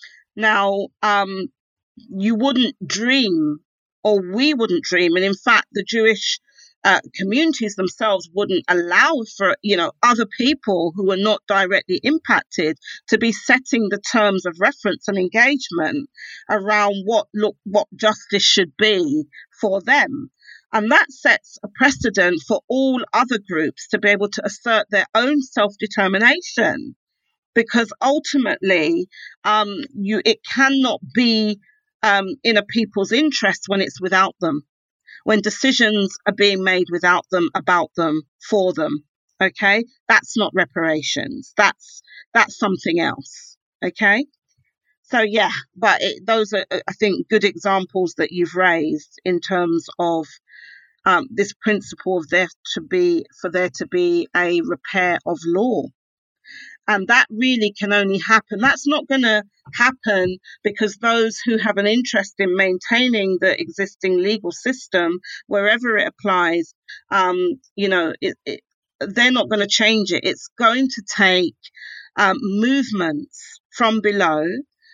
S2: now um, you wouldn't dream, or we wouldn't dream, and in fact the Jewish uh, communities themselves wouldn't allow for, you know, other people who are not directly impacted to be setting the terms of reference and engagement around what look what justice should be for them. And that sets a precedent for all other groups to be able to assert their own self-determination, because ultimately um, you it cannot be Um, in a people's interest when it's without them, when decisions are being made without them, about them, for them. Okay, that's not reparations. That's that's something else. Okay, so yeah, but it, those are, I think, good examples that you've raised in terms of um, this principle of there to be for there to be a repair of law. And that really can only happen. That's not going to happen because those who have an interest in maintaining the existing legal system, wherever it applies, um, you know, it, it, they're not going to change it. It's going to take um, movements from below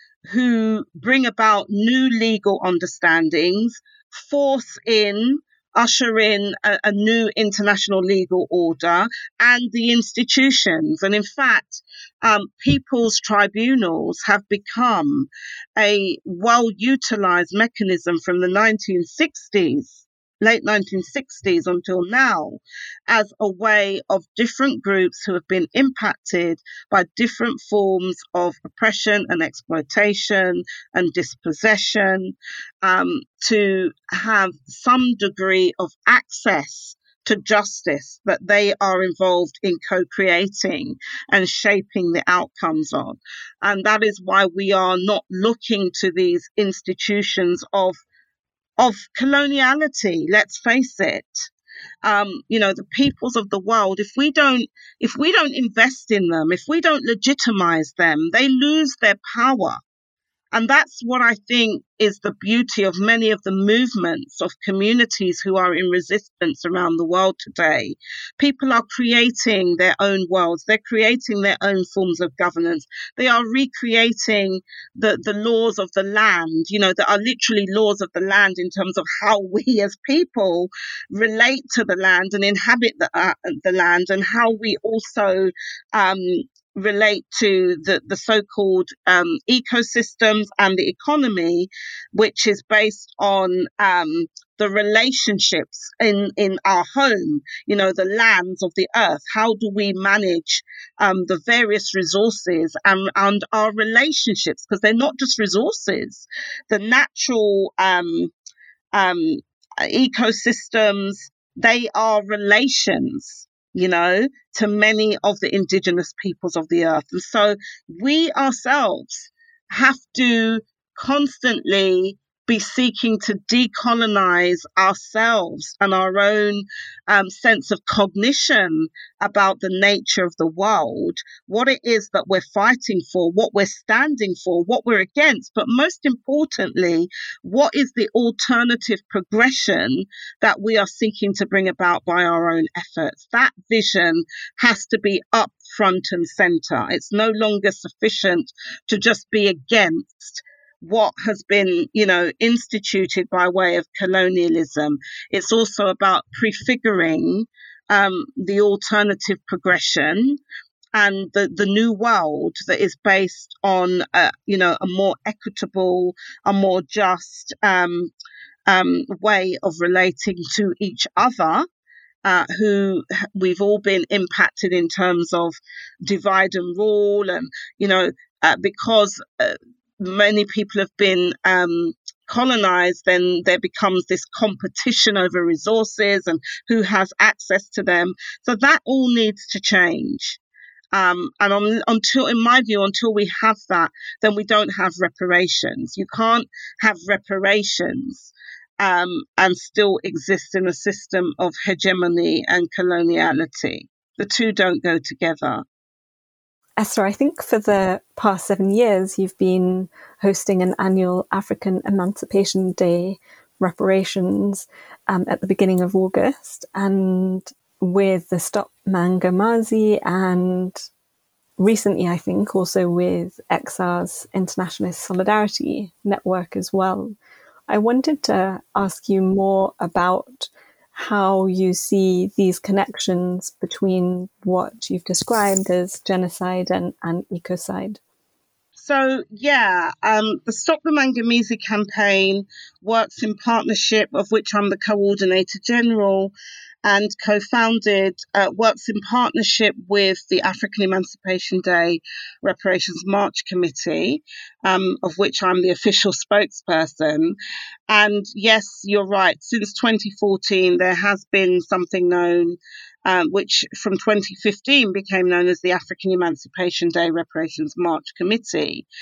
S2: who bring about new legal understandings, force in, usher in a, a new international legal order and the institutions. And in fact, um, people's tribunals have become a well-utilized mechanism from the nineteen sixties. Late nineteen sixties until now, as a way of different groups who have been impacted by different forms of oppression and exploitation and dispossession, um, to have some degree of access to justice that they are involved in co-creating and shaping the outcomes of. And that is why we are not looking to these institutions of of coloniality, let's face it. Um, you know, the peoples of the world, if we don't if we don't invest in them, if we don't legitimize them, they lose their power. And that's what I think is the beauty of many of the movements of communities who are in resistance around the world today. People are creating their own worlds. They're creating their own forms of governance. They are recreating the, the laws of the land, you know, that are literally laws of the land in terms of how we as people relate to the land and inhabit the, uh, the land, and how we also um, relate to the, the so-called um, ecosystems and the economy, which is based on um, the relationships in, in our home, you know, the lands of the earth. How do we manage um, the various resources and, and our relationships? Because they're not just resources. The natural um, um, ecosystems, they are relations, you know, to many of the indigenous peoples of the earth. And so we ourselves have to constantly be seeking to decolonize ourselves and our own um, sense of cognition about the nature of the world, what it is that we're fighting for, what we're standing for, what we're against, but most importantly, what is the alternative progression that we are seeking to bring about by our own efforts. That vision has to be up front and center. It's no longer sufficient to just be against what has been, you know, instituted by way of colonialism. It's also about prefiguring um, the alternative progression and the, the new world that is based on, uh, you know, a more equitable, a more just um, um, way of relating to each other. Uh, who we've all been impacted in terms of divide and rule, and you know, uh, because uh, many people have been um, colonized, then there becomes this competition over resources and who has access to them. So that all needs to change. Um, and on, until, in my view, until we have that, then we don't have reparations. You can't have reparations um, and still exist in a system of hegemony and coloniality. The two don't go together.
S1: Esther, I think for the past seven years, you've been hosting an annual African Emancipation Day reparations um, at the beginning of August, and with the Stop Mangamazi, and recently, I think, also with X R's Internationalist Solidarity Network as well. I wanted to ask you more about how you see these connections between what you've described as genocide and, and ecocide.
S2: So, yeah, um, the Stop the Mangamizi campaign works in partnership, of which I'm the coordinator general, and co-founded, uh, works in partnership with the African Emancipation Day Reparations March Committee, um, of which I'm the official spokesperson. And yes, you're right, since twenty fourteen, there has been something known, um, which from twenty fifteen became known as the African Emancipation Day Reparations March Committee.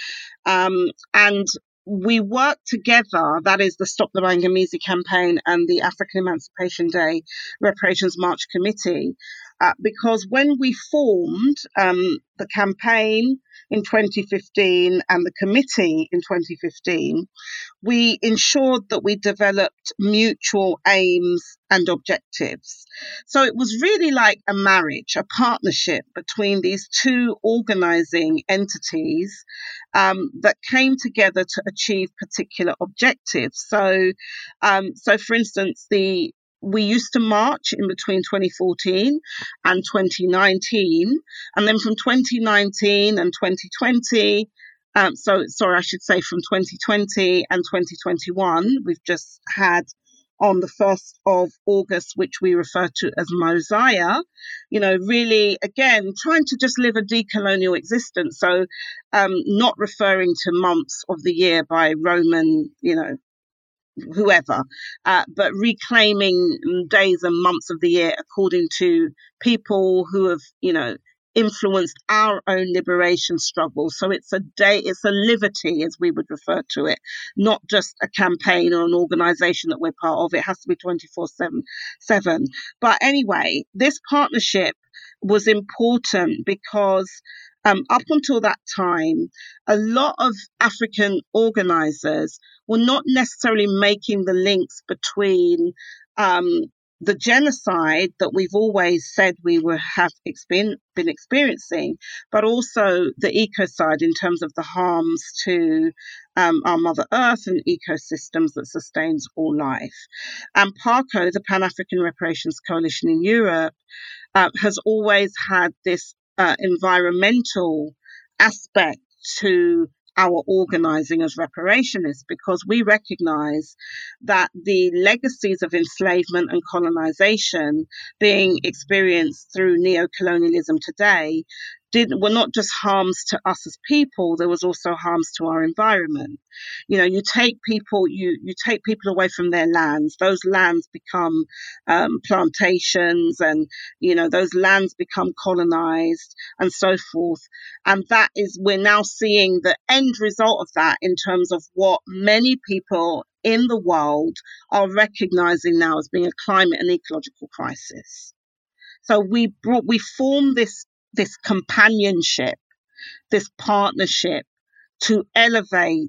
S2: Um, and we work together, that is the Stop the Bangamizi campaign and the African Emancipation Day Reparations March Committee, uh, because when we formed um, the campaign in twenty fifteen and the committee in twenty fifteen, we ensured that we developed mutual aims and objectives. So it was really like a marriage, a partnership between these two organizing entities um, that came together to achieve particular objectives. So, um, so for instance, the we used to march in between twenty fourteen and twenty nineteen, and then from twenty nineteen and twenty twenty, um, so, sorry, I should say from twenty twenty and twenty twenty-one, we've just had on the first of August, which we refer to as Mosiah, you know, really, again, trying to just live a decolonial existence. So um, not referring to months of the year by Roman, you know, whoever, uh, but reclaiming days and months of the year according to people who have, you know, influenced our own liberation struggle. So it's a day, it's a liberty, as we would refer to it, not just a campaign or an organization that we're part of. It has to be twenty-four seven. But anyway, this partnership was important because um, up until that time, a lot of African organizers were not necessarily making the links between um, the genocide that we've always said we were have experien- been experiencing, but also the ecocide in terms of the harms to um, our Mother Earth and ecosystems that sustains all life. And PARCO, the Pan-African Reparations Coalition in Europe, uh, has always had this uh, environmental aspect to our organizing as reparationists, because we recognize that the legacies of enslavement and colonization being experienced through neocolonialism today did were not just harms to us as people, there was also harms to our environment. You know, you take people, you you take people away from their lands, those lands become um, plantations, and you know, those lands become colonized and so forth. And that is, we're now seeing the end result of that in terms of what many people in the world are recognizing now as being a climate and ecological crisis. So we brought, we formed this this companionship, this partnership to elevate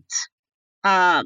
S2: uh,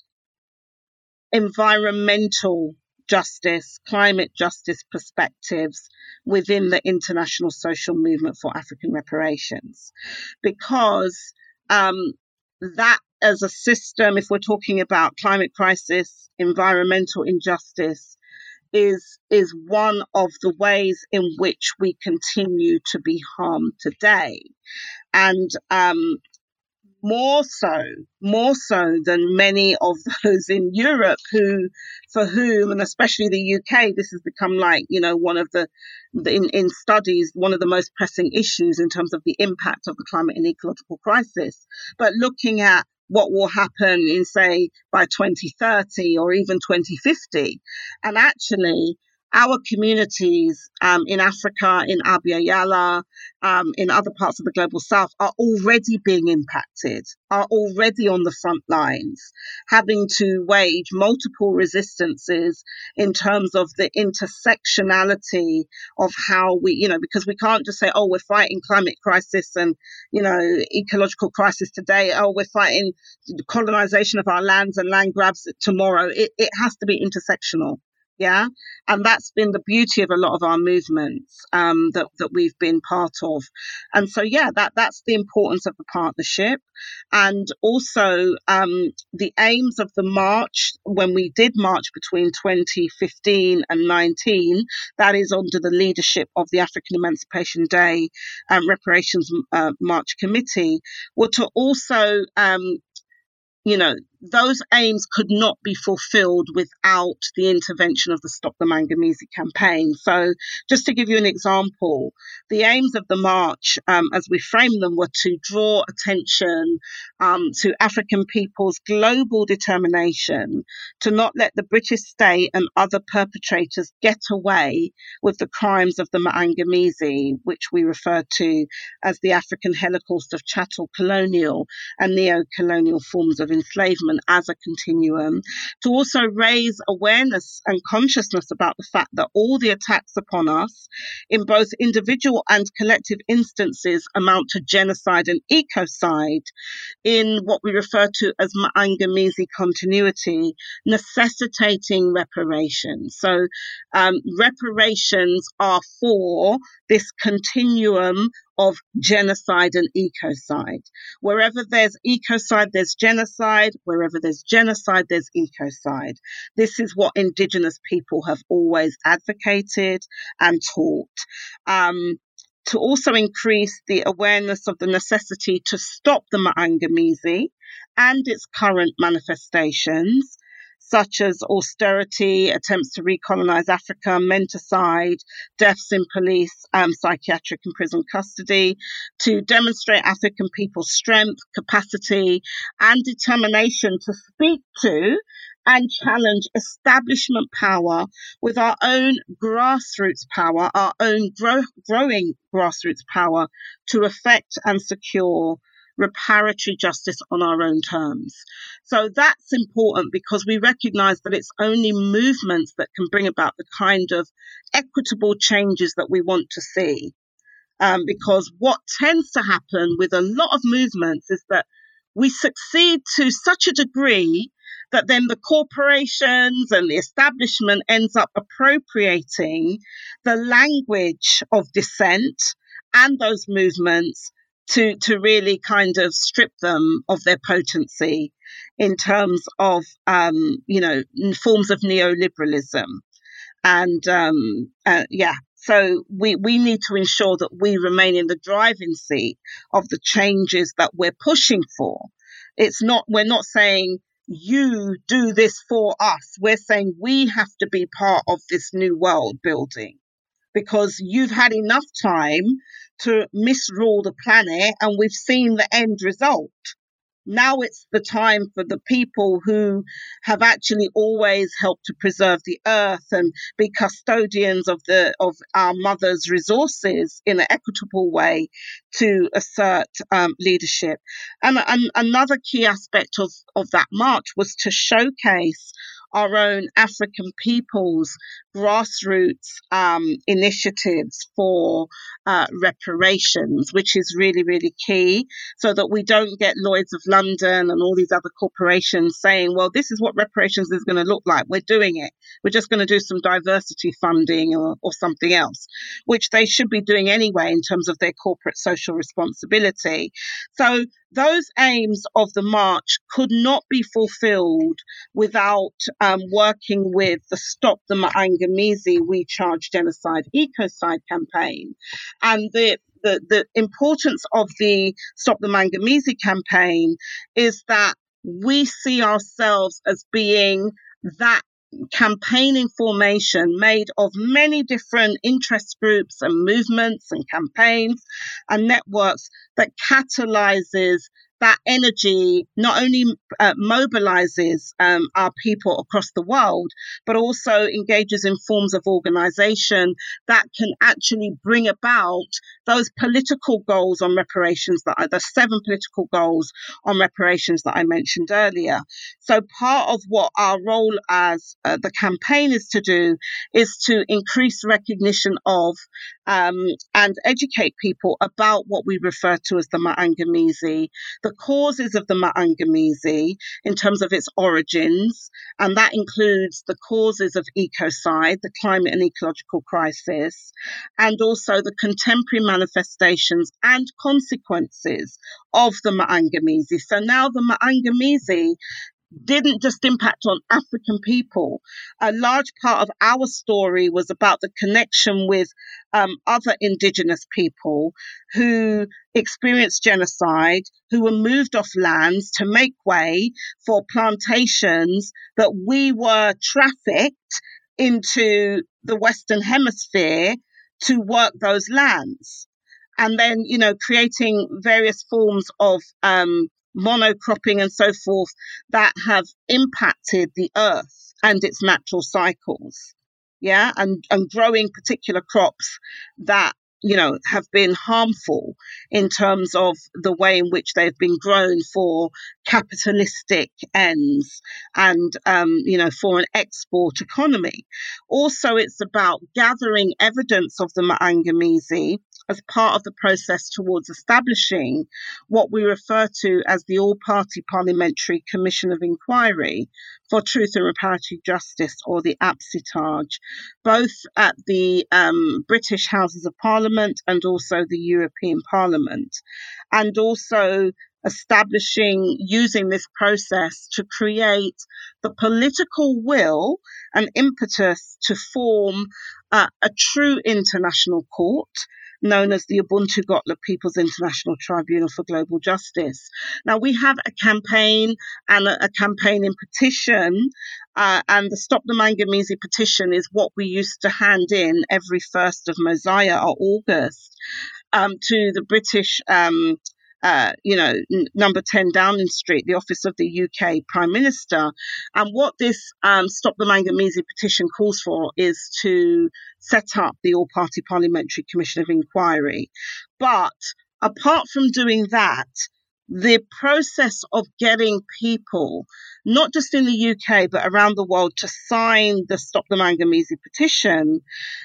S2: environmental justice, climate justice perspectives within the international social movement for African reparations. Because um, that as a system, if we're talking about climate crisis, environmental injustice, is is one of the ways in which we continue to be harmed today. And um, more so, more so than many of those in Europe who, for whom, and especially the U K, this has become like, you know, one of the, the in, in studies, one of the most pressing issues in terms of the impact of the climate and ecological crisis. But looking at what will happen in, say, by twenty thirty or even twenty fifty, and actually our communities um, in Africa, in Abya Yala, um, in other parts of the global south are already being impacted, are already on the front lines, having to wage multiple resistances in terms of the intersectionality of how we, you know, because we can't just say, oh, we're fighting climate crisis and, you know, ecological crisis today. Oh, we're fighting colonization of our lands and land grabs tomorrow. It, it has to be intersectional. Yeah. And that's been the beauty of a lot of our movements um, that, that we've been part of. And so, yeah, that, that's the importance of the partnership. And also um, the aims of the march, when we did march between twenty fifteen and nineteen, that is under the leadership of the African Emancipation Day um, Reparations uh, March Committee, were to also um, you know, those aims could not be fulfilled without the intervention of the Stop the Manganese campaign. So just to give you an example, the aims of the march, um, as we framed them, were to draw attention um, to African people's global determination to not let the British state and other perpetrators get away with the crimes of the Maangamizi, which we refer to as the African Holocaust of chattel colonial and neo-colonial forms of enslavement as a continuum, to also raise awareness and consciousness about the fact that all the attacks upon us, in both individual and collective instances, amount to genocide and ecocide in what we refer to as Maangamizi continuity, necessitating reparations. So um, reparations are for this continuum of genocide and ecocide. Wherever there's ecocide, there's genocide. Wherever there's genocide, there's ecocide. This is what Indigenous people have always advocated and taught. Um, to also increase the awareness of the necessity to stop the Maangamizi and its current manifestations, such as austerity, attempts to recolonize Africa, menticide, deaths in police, um, psychiatric and prison custody, to demonstrate African people's strength, capacity, and determination to speak to and challenge establishment power with our own grassroots power, our own grow- growing grassroots power to effect and secure reparatory justice on our own terms. So that's important because we recognize that it's only movements that can bring about the kind of equitable changes that we want to see. Um, because what tends to happen with a lot of movements is that we succeed to such a degree that then the corporations and the establishment ends up appropriating the language of dissent and those movements to, to really kind of strip them of their potency in terms of, um, you know, forms of neoliberalism. And um, uh, yeah, so we, we need to ensure that we remain in the driving seat of the changes that we're pushing for. It's not, we're not saying you do this for us. We're saying we have to be part of this new world building because you've had enough time to misrule the planet and we've seen the end result. Now it's the time for the people who have actually always helped to preserve the earth and be custodians of the of our mother's resources in an equitable way to assert um, leadership. And, and another key aspect of, of that march was to showcase our own African people's grassroots um, initiatives for uh, reparations, which is really, really key, so that we don't get Lloyd's of London and all these other corporations saying, well, this is what reparations is going to look like. We're doing it. We're just going to do some diversity funding or, or something else, which they should be doing anyway in terms of their corporate social responsibility. So those aims of the march could not be fulfilled without um, working with the Stop the Maangamizi We Charge Genocide Ecocide campaign. And the The, the importance of the Stop the Maangamizi campaign is that we see ourselves as being that campaigning formation made of many different interest groups and movements and campaigns and networks that catalyzes that energy, not only uh, mobilizes um, our people across the world, but also engages in forms of organization that can actually bring about those political goals on reparations, that are the seven political goals on reparations that I mentioned earlier. So part of what our role as uh, the campaign is to do is to increase recognition of um, and educate people about what we refer to as the Maangamizi, the causes of the Maangamizi in terms of its origins, and that includes the causes of ecocide, the climate and ecological crisis, and also the contemporary manifestations and consequences of the Maangamizi. So now the Maangamizi didn't just impact on African people. A large part of our story was about the connection with um, other indigenous people who experienced genocide, who were moved off lands to make way for plantations that we were trafficked into the Western Hemisphere to work those lands. And then, you know, creating various forms of um, monocropping and so forth that have impacted the earth and its natural cycles. Yeah, and, and growing particular crops that, you know, have been harmful in terms of the way in which they've been grown for capitalistic ends and, um, you know, for an export economy. Also, it's about gathering evidence of the Maangamizi as part of the process towards establishing what we refer to as the All-Party Parliamentary Commission of Inquiry for Truth and Reparative Justice, or the APSITAJ, both at the um, British Houses of Parliament and also the European Parliament, and also establishing, using this process to create the political will and impetus to form uh, a true international court known as the Ubuntu Gotla People's International Tribunal for Global Justice. Now, we have a campaign and a, a campaigning petition, uh, and the Stop the Maangamizi petition is what we used to hand in every first of Mosiah or August um, to the British um, Uh, you know, n- number ten Downing Street, the office of the U K Prime Minister. And what this um, Stop the Maangamizi petition calls for is to set up the All-Party Parliamentary Commission of Inquiry. But apart from doing that, the process of getting people, not just in the U K, but around the world, to sign the Stop the Maangamizi petition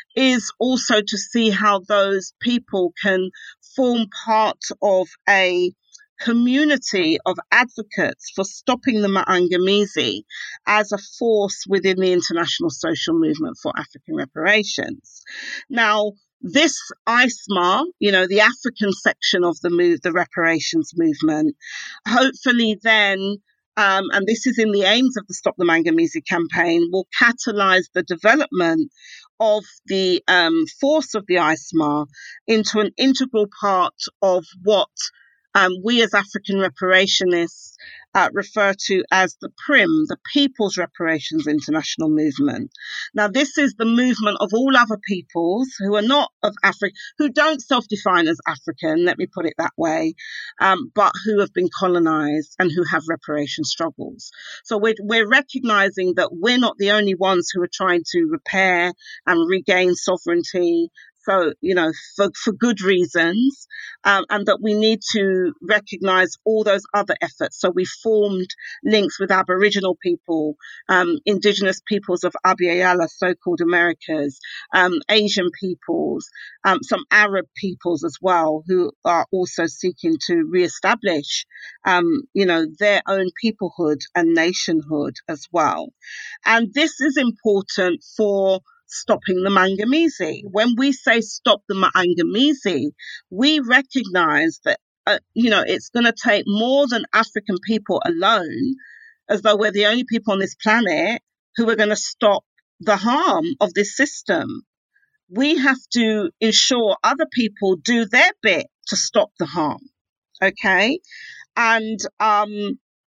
S2: is also to see how those people can form part of a community of advocates for stopping the Maangamizi as a force within the international social movement for African reparations. Now, this I S M A, you know, the African section of the move, the reparations movement, hopefully then, um, and this is in the aims of the Stop the Maangamizi campaign, will catalyse the development of the um, force of the I S M A into an integral part of what um, we as African reparationists uh, refer to as the P R I M, the People's Reparations International Movement. Now, this is the movement of all other peoples who are not of Africa, who don't self-define as African, let me put it that way, um, but who have been colonized and who have reparation struggles. So we're, we're recognizing that we're not the only ones who are trying to repair and regain sovereignty, so, you know, for, for good reasons, um, and that we need to recognise all those other efforts. So we formed links with Aboriginal people, um, Indigenous peoples of Abya-Yala, so-called Americas, um, Asian peoples, um, some Arab peoples as well, who are also seeking to re-establish, um, you know, their own peoplehood and nationhood as well. And this is important for stopping the Maangamizi. When we say stop the Maangamizi, we recognize that, uh, you know, it's going to take more than African people alone, as though we're the only people on this planet who are going to stop the harm of this system. We have to ensure other people do their bit to stop the harm. Okay. And, um,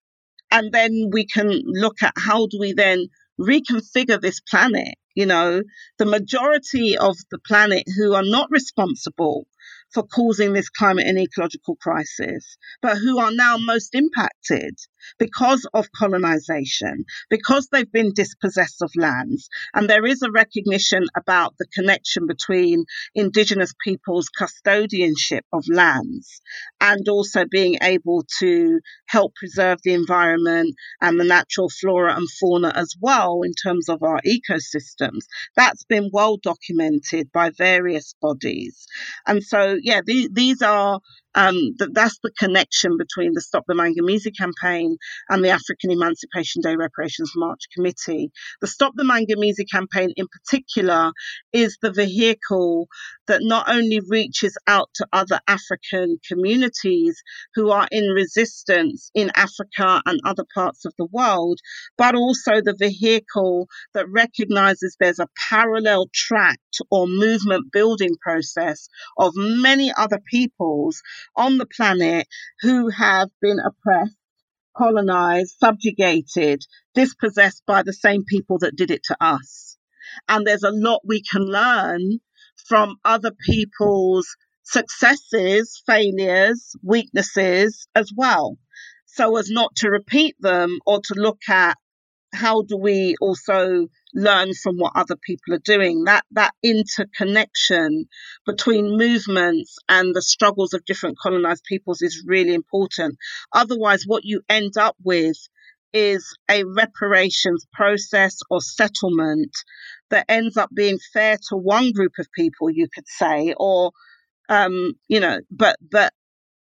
S2: and then we can look at how do we then reconfigure this planet. You know, the majority of the planet who are not responsible for causing this climate and ecological crisis, but who are now most impacted because of colonization, because they've been dispossessed of lands. And there is a recognition about the connection between Indigenous peoples' custodianship of lands and also being able to help preserve the environment and the natural flora and fauna as well in terms of our ecosystems. That's been well documented by various bodies. And so, yeah, the, these are Um, that that's the connection between the Stop the Mangamizi campaign and the African Emancipation Day Reparations March Committee. The Stop the Mangamizi campaign in particular is the vehicle that not only reaches out to other African communities who are in resistance in Africa and other parts of the world, but also the vehicle that recognizes there's a parallel tract or movement building process of many other peoples on the planet who have been oppressed, colonized, subjugated, dispossessed by the same people that did it to us. And there's a lot we can learn from other people's successes, failures, weaknesses as well, so as not to repeat them or to look at how do we also learn from what other people are doing. That that interconnection between movements and the struggles of different colonized peoples is really important. Otherwise, what you end up with is a reparations process or settlement that ends up being fair to one group of people, you could say, or um, you know, but but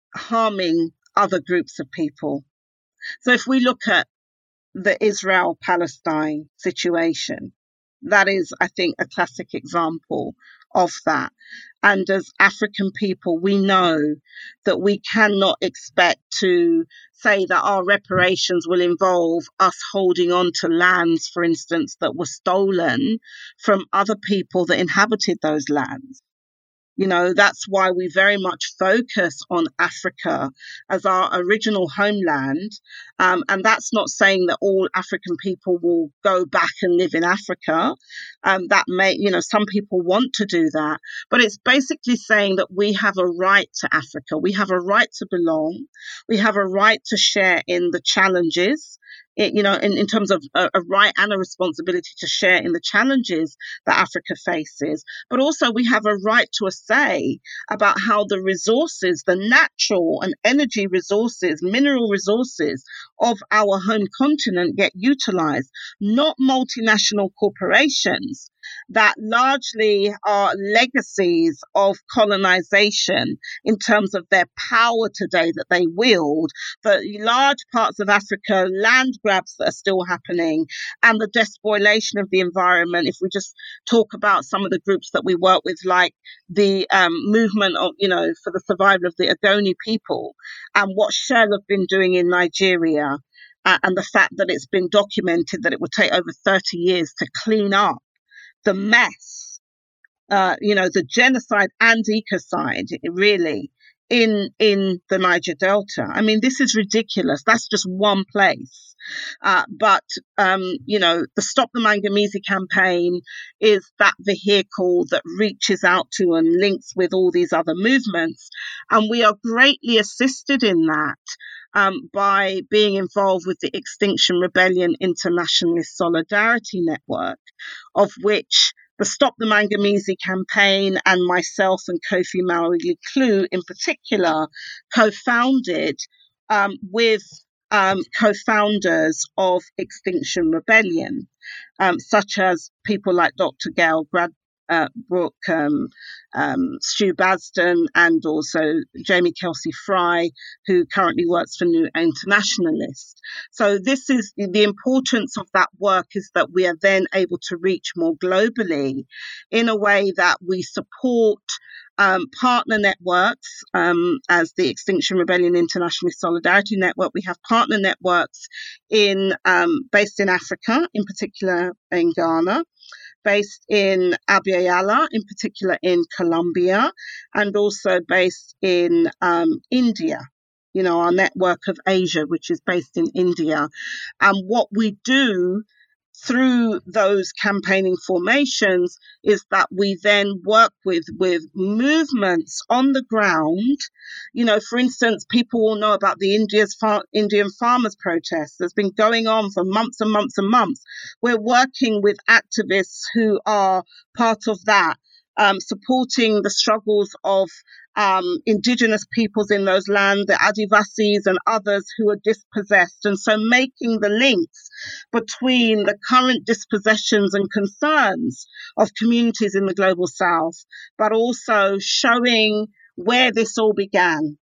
S2: harming other groups of people. So if we look at the Israel-Palestine situation, that is, I think, a classic example of that. And as African people, we know that we cannot expect to say that our reparations will involve us holding on to lands, for instance, that were stolen from other people that inhabited those lands. You know, that's why we very much focus on Africa as our original homeland. Um, and that's not saying that all African people will go back and live in Africa. Um, that may, you know, some people want to do that. But it's basically saying that we have a right to Africa. We have a right to belong. We have a right to share in the challenges. It, you know, in, in terms of a, a right and a responsibility to share in the challenges that Africa faces, but also we have a right to a say about how the resources, the natural and energy resources, mineral resources of our home continent get utilized, not multinational corporations that largely are legacies of colonization in terms of their power today that they wield, the large parts of Africa, land grabs that are still happening, and the despoilation of the environment. If we just talk about some of the groups that we work with, like the um, movement of, you know, for the survival of the Ogoni people, and what Shell have been doing in Nigeria, uh, and the fact that it's been documented that it will take over thirty years to clean up the mess, uh, you know, the genocide and ecocide, really, in in the Niger Delta. I mean, this is ridiculous. That's just one place. Uh, but, um, you know, the Stop the Mangamizi campaign is that vehicle that reaches out to and links with all these other movements. And we are greatly assisted in that um, by being involved with the Extinction Rebellion Internationalist Solidarity Network, of which the Stop the Mangamizi campaign and myself and Kofi Mawuli-Klue in particular co-founded um, with um, co-founders of Extinction Rebellion, um, such as people like Doctor Gail Grad- uh, Brooke, um, um, Stu Basden, and also Jamie Kelsey Fry, who currently works for New Internationalist. So this is the importance of that work, is that we are then able to reach more globally in a way that we support Um, partner networks, um, as the Extinction Rebellion Internationalist Solidarity Network. We have partner networks in um, based in Africa, in particular in Ghana, based in Abya-Yala, in particular in Colombia, and also based in um, India. You know, our network of Asia, which is based in India. And what we do through those campaigning formations is that we then work with with movements on the ground. You know, for instance, people will know about the India's far, Indian farmers' protest that's been going on for months and months and months. We're working with activists who are part of that, um, supporting the struggles of Um, indigenous peoples in those lands, the Adivasis and others who are dispossessed. And so making the links between the current dispossessions and concerns of communities in the global south, but also showing where this all began.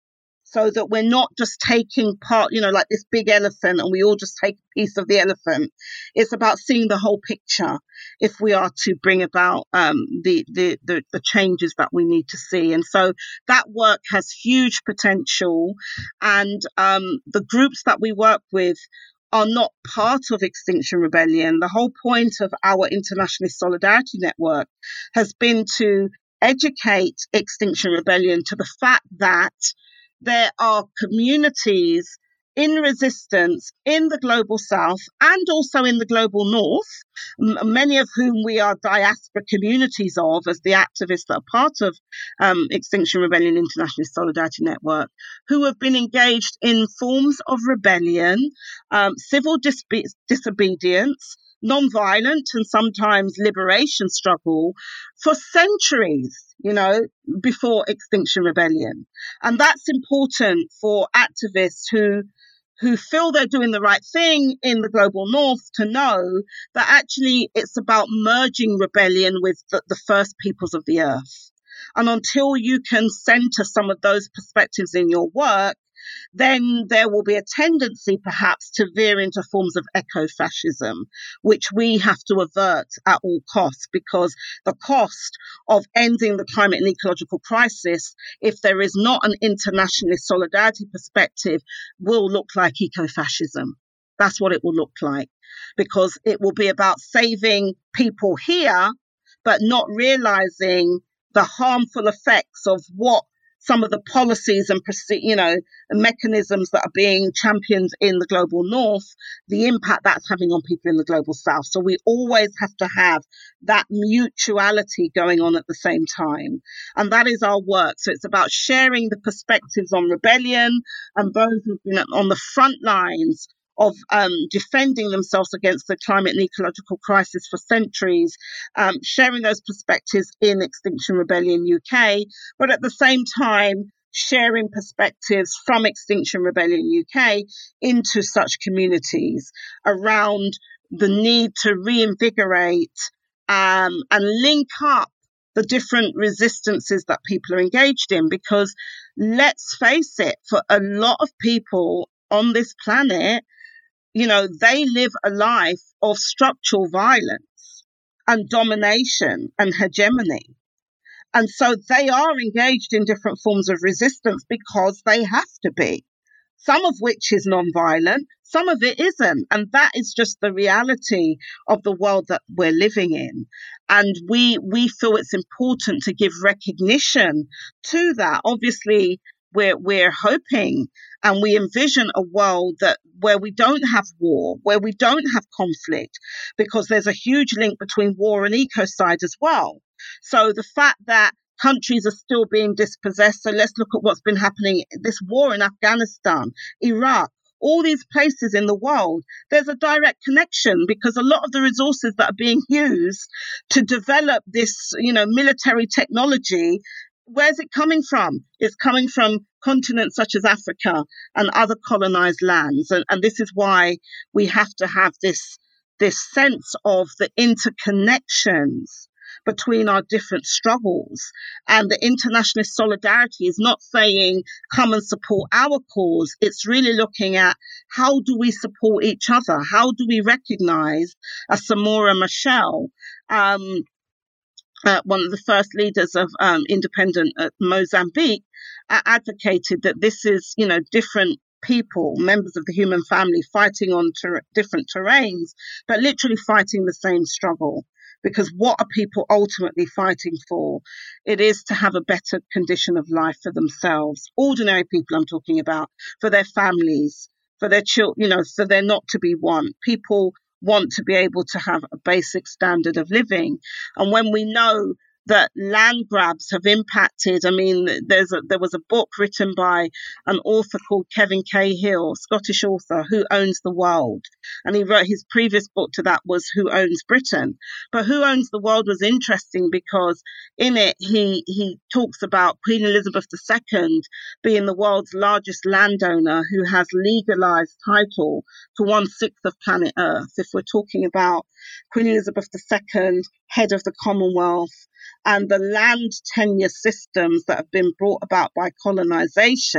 S2: so that we're not just taking part, you know, like this big elephant and we all just take a piece of the elephant. It's about seeing the whole picture if we are to bring about um, the, the, the, the changes that we need to see. And so that work has huge potential. And um, the groups that we work with are not part of Extinction Rebellion. The whole point of our Internationalist Solidarity Network has been to educate Extinction Rebellion to the fact that there are communities in resistance in the global south and also in the global north, m- many of whom we are diaspora communities of as the activists that are part of um, Extinction Rebellion Internationalist Solidarity Network, who have been engaged in forms of rebellion, um, civil dis- disobedience, non-violent and sometimes liberation struggle for centuries, you know, before Extinction Rebellion. And that's important for activists who who feel they're doing the right thing in the global north to know that actually it's about merging rebellion with the, the first peoples of the earth. And until you can center some of those perspectives in your work, then there will be a tendency perhaps to veer into forms of eco-fascism, which we have to avert at all costs, because the cost of ending the climate and ecological crisis, if there is not an internationalist solidarity perspective, will look like eco-fascism. That's what it will look like, because it will be about saving people here, but not realizing the harmful effects of what some of the policies and, you know, mechanisms that are being championed in the global north, the impact that's having on people in the global south. So we always have to have that mutuality going on at the same time. And that is our work. So it's about sharing the perspectives on rebellion and those who've been on the front lines of um, defending themselves against the climate and ecological crisis for centuries, um, sharing those perspectives in Extinction Rebellion U K, but at the same time, sharing perspectives from Extinction Rebellion U K into such communities around the need to reinvigorate um, and link up the different resistances that people are engaged in. Because let's face it, for a lot of people on this planet, you know, they live a life of structural violence and domination and hegemony. And so they are engaged in different forms of resistance because they have to be, some of which is non-violent, some of it isn't. And that is just the reality of the world that we're living in. And we we feel it's important to give recognition to that. Obviously, we're we're hoping and we envision a world that where we don't have war, where we don't have conflict, because there's a huge link between war and ecocide as well. So the fact that countries are still being dispossessed. So let's look at what's been happening, this war in Afghanistan, Iraq, all these places in the world. There's a direct connection because a lot of the resources that are being used to develop this, you know, military technology, where's it coming from? It's coming from continents such as Africa and other colonized lands. And, and this is why we have to have this, this sense of the interconnections between our different struggles. And the internationalist solidarity is not saying, come and support our cause. It's really looking at how do we support each other? How do we recognize, as Samora Machel, um, uh, one of the first leaders of um, independent uh, Mozambique, uh, advocated that this is, you know, different people, members of the human family fighting on ter- different terrains, but literally fighting the same struggle. Because what are people ultimately fighting for? It is to have a better condition of life for themselves. Ordinary people I'm talking about, for their families, for their children, you know, so they're not to be one. People want to be able to have a basic standard of living. And when we know that land grabs have impacted, I mean, there's a, there was a book written by an author called Kevin Cahill, Scottish author, Who Owns the World? And he wrote, his previous book to that was Who Owns Britain? But Who Owns the World was interesting because in it, he, he talks about Queen Elizabeth the Second being the world's largest landowner who has legalized title to one-sixth of planet Earth. If we're talking about Queen Elizabeth the Second, head of the Commonwealth, and the land tenure systems that have been brought about by colonization,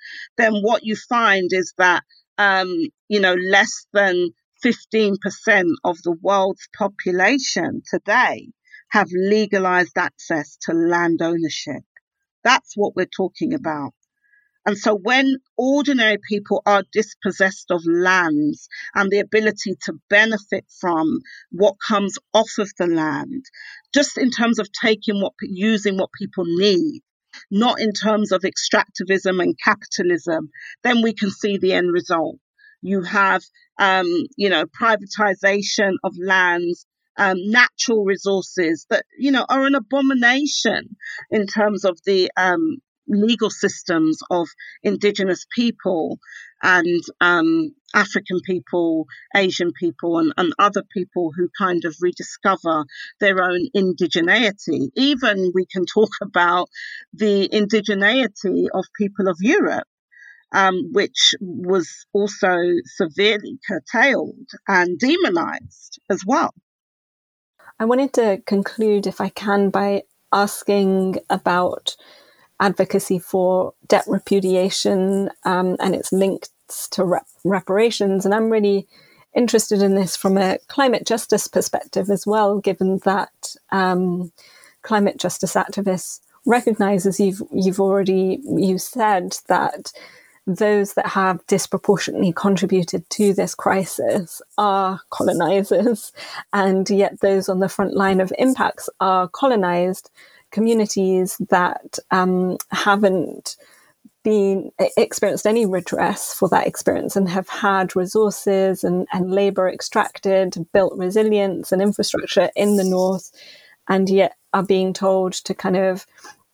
S2: then what you find is that, um, you know, less than fifteen percent of the world's population today have legalized access to land ownership. That's what we're talking about. And so when ordinary people are dispossessed of lands and the ability to benefit from what comes off of the land, just in terms of taking what, using what people need, not in terms of extractivism and capitalism, then we can see the end result. You have, um, you know, privatization of lands, um, natural resources that, you know, are an abomination in terms of the um, legal systems of indigenous people and um, African people, Asian people, and, and other people who kind of rediscover their own indigeneity. Even we can talk about the indigeneity of people of Europe, um, which was also severely curtailed and demonized as well.
S1: I wanted to conclude, if I can, by asking about advocacy for debt repudiation um, and its links to rep- reparations. And I'm really interested in this from a climate justice perspective as well, given that um, climate justice activists recognize, as you've, you've already you said, that those that have disproportionately contributed to this crisis are colonizers, and yet those on the front line of impacts are colonized communities that um, haven't been experienced any redress for that experience and have had resources and, and labor extracted, built resilience and infrastructure in the north, and yet are being told to kind of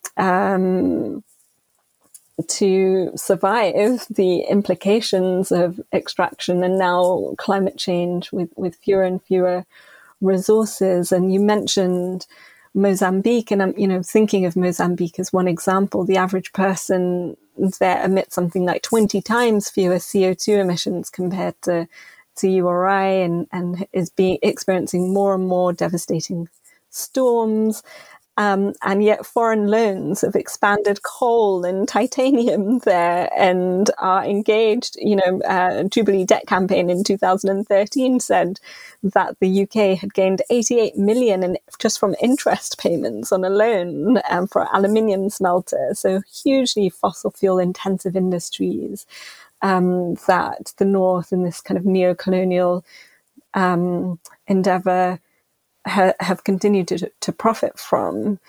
S1: um, to survive the implications of extraction and now climate change with, with fewer and fewer resources. And you mentioned Mozambique, and I'm, you know, thinking of Mozambique as one example. The average person there emits something like twenty times fewer C O two emissions compared to, to U R I, and, and is being experiencing more and more devastating storms. Um, and yet foreign loans have expanded coal and titanium there and are engaged. You know, uh, Jubilee Debt Campaign in two thousand thirteen said that the U K had gained eighty-eight million in, just from interest payments on a loan um, for aluminium smelters. So hugely fossil fuel intensive industries um, that the North in this kind of neo-colonial um, endeavour have continued to, to profit from.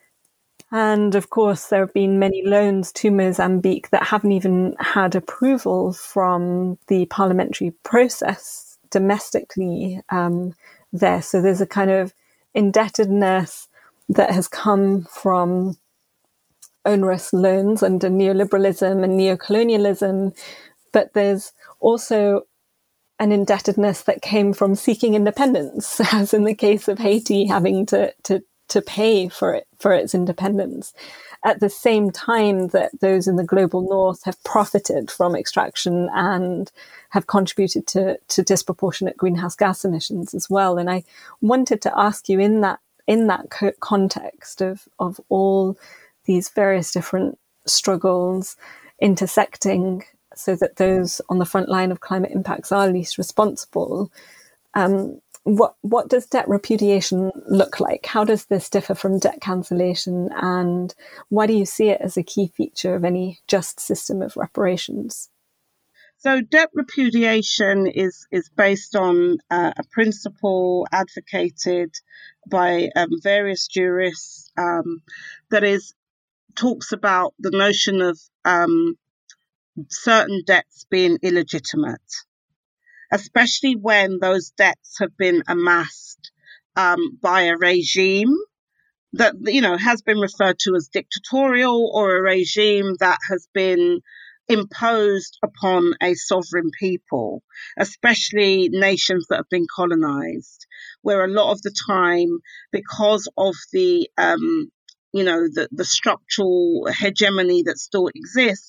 S1: And of course, there have been many loans to Mozambique that haven't even had approval from the parliamentary process domestically um, there. So there's a kind of indebtedness that has come from onerous loans under neoliberalism and neocolonialism, but there's also an indebtedness that came from seeking independence, as in the case of Haiti having to to to pay for it for its independence, at the same time that those in the global north have profited from extraction and have contributed to to disproportionate greenhouse gas emissions as well. And I wanted to ask you, in that in that co- context of of all these various different struggles intersecting, so that those on the front line of climate impacts are least responsible. Um, what what does debt repudiation look like? How does this differ from debt cancellation? And why do you see it as a key feature of any just system of reparations?
S2: So debt repudiation is, is based on uh, a principle advocated by um, various jurists um, that is talks about the notion of um, certain debts being illegitimate, especially when those debts have been amassed um, by a regime that, you know, has been referred to as dictatorial, or a regime that has been imposed upon a sovereign people, especially nations that have been colonized, where a lot of the time, because of the, um, you know, the, the structural hegemony that still exists,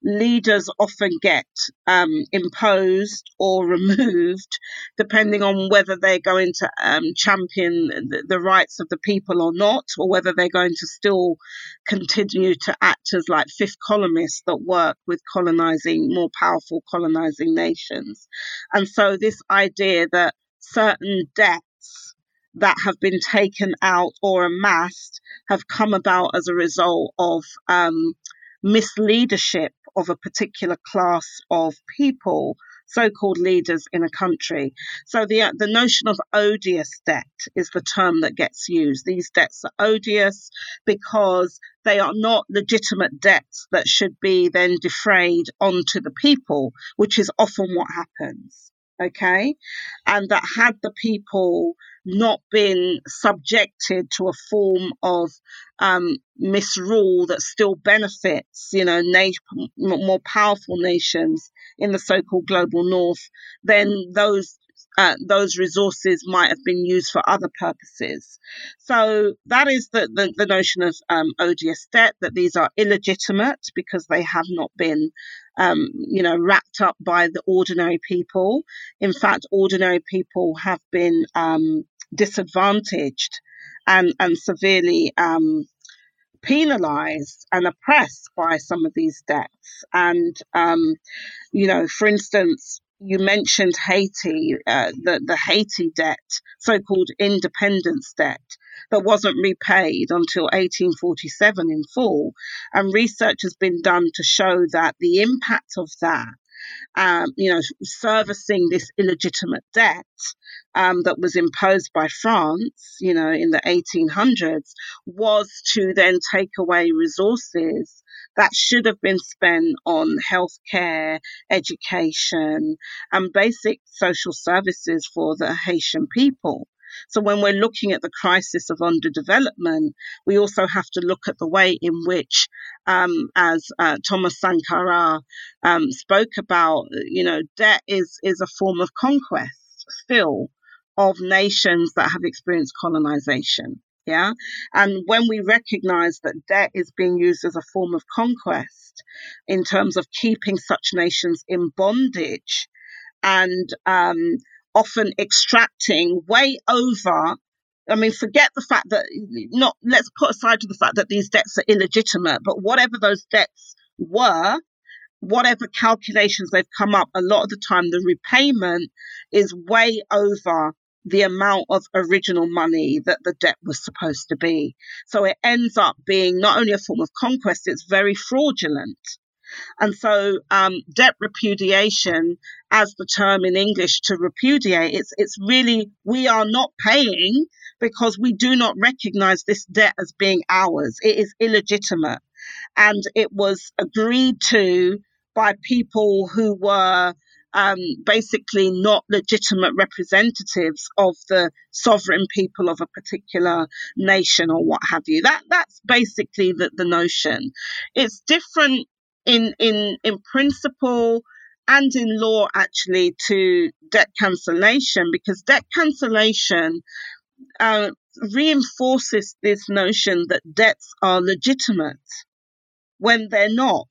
S2: leaders often get um, imposed or removed depending on whether they're going to um, champion the, the rights of the people or not, or whether they're going to still continue to act as like fifth columnists that work with colonizing, more powerful colonizing nations. And so this idea that certain debts that have been taken out or amassed have come about as a result of um, misleadership of a particular class of people, so-called leaders in a country. So the the notion of odious debt is the term that gets used. These debts are odious because they are not legitimate debts that should be then defrayed onto the people, which is often what happens. Okay, and that had the people not been subjected to a form of um, misrule that still benefits, you know, na- more powerful nations in the so-called global north, then those uh, those resources might have been used for other purposes. So that is the, the, the notion of um, odious debt, that these are illegitimate because they have not been Um, you know, wrapped up by the ordinary people. In fact, ordinary people have been um, disadvantaged and, and severely um, penalized and oppressed by some of these debts. And, um, you know, for instance, you mentioned Haiti, uh, the, the Haiti debt, so-called independence debt, that wasn't repaid until eighteen forty-seven in full. And research has been done to show that the impact of that, um, you know, servicing this illegitimate debt um, that was imposed by France, you know, in the eighteen hundreds, was to then take away resources that should have been spent on healthcare, education, and basic social services for the Haitian people. So when we're looking at the crisis of underdevelopment, we also have to look at the way in which, um, as uh, Thomas Sankara um, spoke about, you know, debt is, is a form of conquest still of nations that have experienced colonization. Yeah. And when we recognize that debt is being used as a form of conquest in terms of keeping such nations in bondage and um, often extracting way over, I mean, forget the fact that, not, let's put aside to the fact that these debts are illegitimate, but whatever those debts were, whatever calculations they've come up, a lot of the time the repayment is way over the amount of original money that the debt was supposed to be. So it ends up being not only a form of conquest, it's very fraudulent. And so um, debt repudiation, as the term in English to repudiate, it's, it's really, we are not paying because we do not recognize this debt as being ours. It is illegitimate. And it was agreed to by people who were um, basically not legitimate representatives of the sovereign people of a particular nation or what have you. That that's basically the, the notion. It's different in in in principle and in law actually to debt cancellation, because debt cancellation uh, reinforces this notion that debts are legitimate when they're not.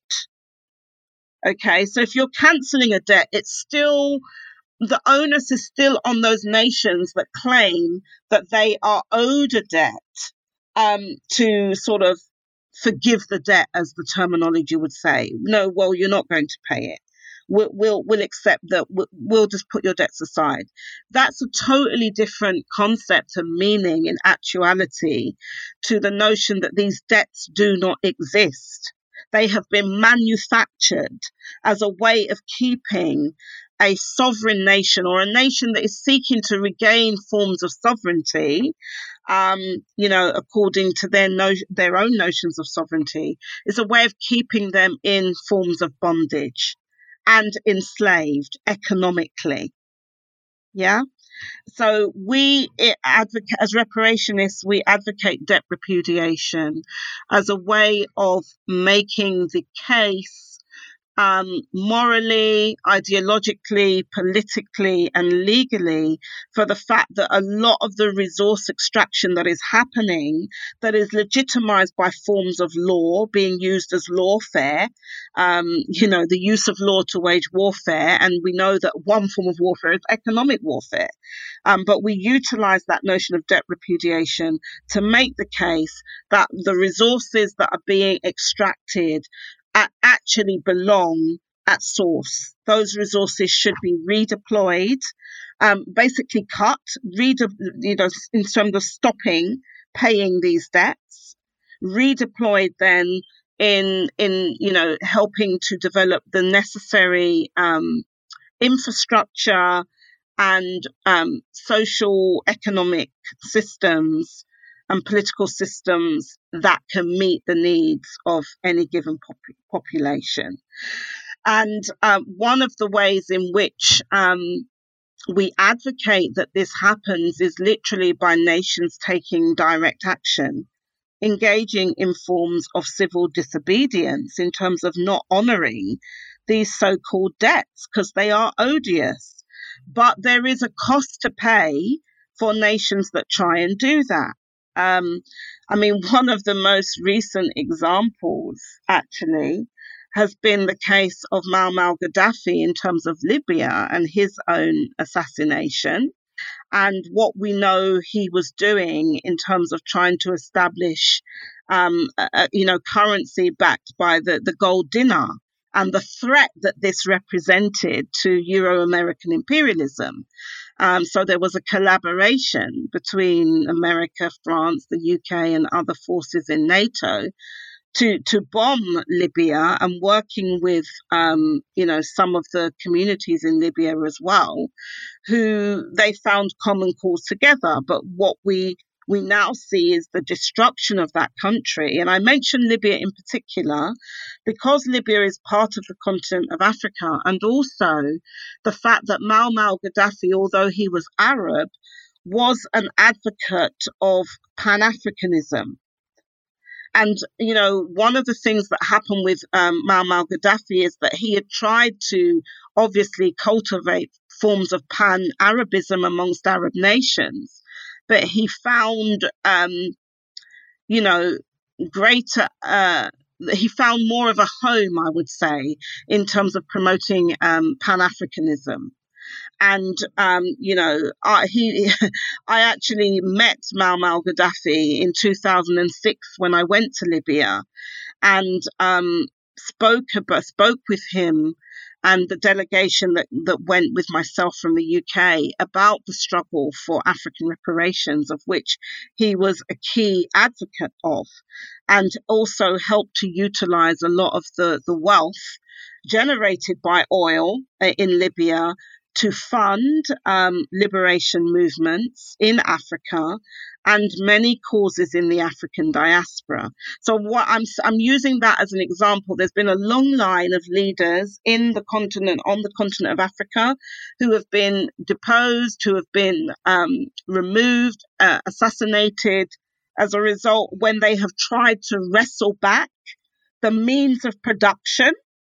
S2: Okay, so if you're cancelling a debt, it's still, the onus is still on those nations that claim that they are owed a debt um, to sort of forgive the debt, as the terminology would say. No, well, you're not going to pay it. We'll, we'll, we'll accept that. We'll, we'll just put your debts aside. That's a totally different concept and meaning in actuality to the notion that these debts do not exist. They have been manufactured as a way of keeping a sovereign nation, or a nation that is seeking to regain forms of sovereignty, um, you know, according to their no- their own notions of sovereignty, is a way of keeping them in forms of bondage and enslaved economically. Yeah. So we advocate, as reparationists, we advocate debt repudiation as a way of making the case um, morally, ideologically, politically, and legally for the fact that a lot of the resource extraction that is happening, that is legitimized by forms of law being used as lawfare, um, you know, the use of law to wage warfare. And we know that one form of warfare is economic warfare. Um, but we utilize that notion of debt repudiation to make the case that the resources that are being extracted actually belong at source. Those resources should be redeployed, um, basically cut, rede- you know, in terms of stopping paying these debts, redeployed then in in you know helping to develop the necessary um, infrastructure and um, social economic systems and political systems that can meet the needs of any given pop- population. And um, one of the ways in which um, we advocate that this happens is literally by nations taking direct action, engaging in forms of civil disobedience in terms of not honouring these so-called debts because they are odious. But there is a cost to pay for nations that try and do that. Um, I mean, one of the most recent examples, actually, has been the case of Muammar Gaddafi in terms of Libya and his own assassination, and what we know he was doing in terms of trying to establish, um, a, you know, currency backed by the, the gold dinar, and the threat that this represented to Euro-American imperialism. Um, so there was a collaboration between America, France, the U K, and other forces in NATO to to bomb Libya, and working with um, you know some of the communities in Libya as well, who they found common cause together. But what we we now see is the destruction of that country. And I mention Libya in particular because Libya is part of the continent of Africa, and also the fact that Muammar Gaddafi, although he was Arab, was an advocate of Pan-Africanism. And, you know, one of the things that happened with um, Muammar Gaddafi is that he had tried to obviously cultivate forms of pan-Arabism amongst Arab nations, but he found, um, you know, greater, uh, he found more of a home, I would say, in terms of promoting um, Pan-Africanism. And, um, you know, I, he, I actually met Muammar Gaddafi in two thousand six when I went to Libya, and um, spoke about, spoke with him and the delegation that, that went with myself from the U K about the struggle for African reparations, of which he was a key advocate of, and also helped to utilize a lot of the, the wealth generated by oil in Libya to fund um, liberation movements in Africa and many causes in the African diaspora. So what I'm I'm using that as an example. There's been a long line of leaders in the continent, on the continent of Africa, who have been deposed, who have been um, removed, uh, assassinated as a result when they have tried to wrestle back the means of production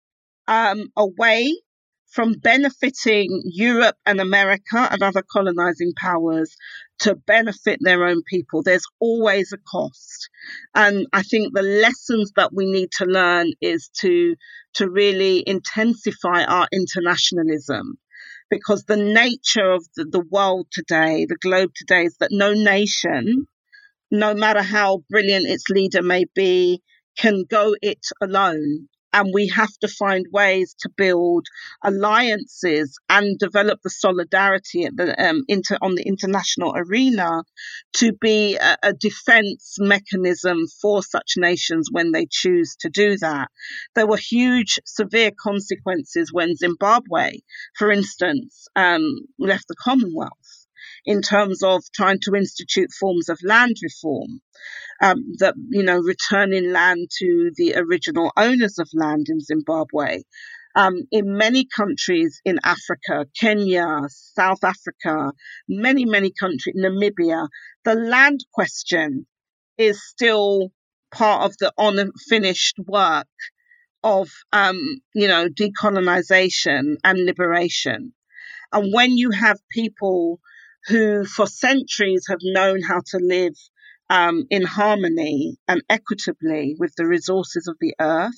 S2: um, away from benefiting Europe and America and other colonizing powers to benefit their own people. There's always a cost. And I think the lessons that we need to learn is to, to really intensify our internationalism, because the nature of the, the world today, the globe today, is that no nation, no matter how brilliant its leader may be, can go it alone. And we have to find ways to build alliances and develop the solidarity at the, um, inter, on the international arena to be a, a defense mechanism for such nations when they choose to do that. There were huge, severe consequences when Zimbabwe, for instance, um, left the Commonwealth, in terms of trying to institute forms of land reform. Um, that, you know, returning land to the original owners of land in Zimbabwe. Um, in many countries in Africa, Kenya, South Africa, many, many countries, Namibia, the land question is still part of the unfinished work of, um, you know, decolonization and liberation. And when you have people who for centuries have known how to live um, in harmony and equitably with the resources of the earth,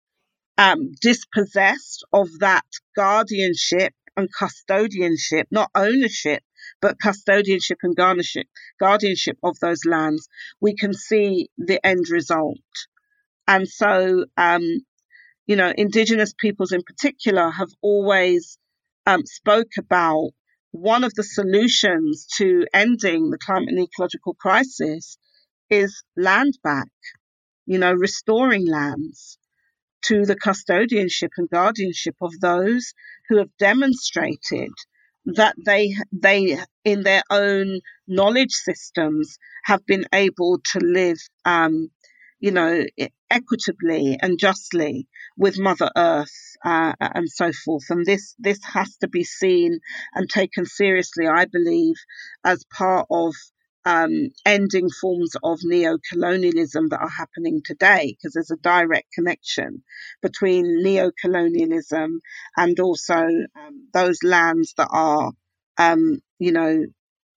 S2: um, dispossessed of that guardianship and custodianship, not ownership, but custodianship and guardianship, guardianship of those lands, we can see the end result. And so, um, you know, Indigenous peoples in particular have always um, spoke about one of the solutions to ending the climate and ecological crisis is land back, you know, restoring lands to the custodianship and guardianship of those who have demonstrated that they they in their own knowledge systems have been able to live um, you know, equitably and justly with Mother Earth uh, and so forth. And this this has to be seen and taken seriously, I believe, as part of um, ending forms of neo-colonialism that are happening today, because there's a direct connection between neo-colonialism and also um, those lands that are, um, you know,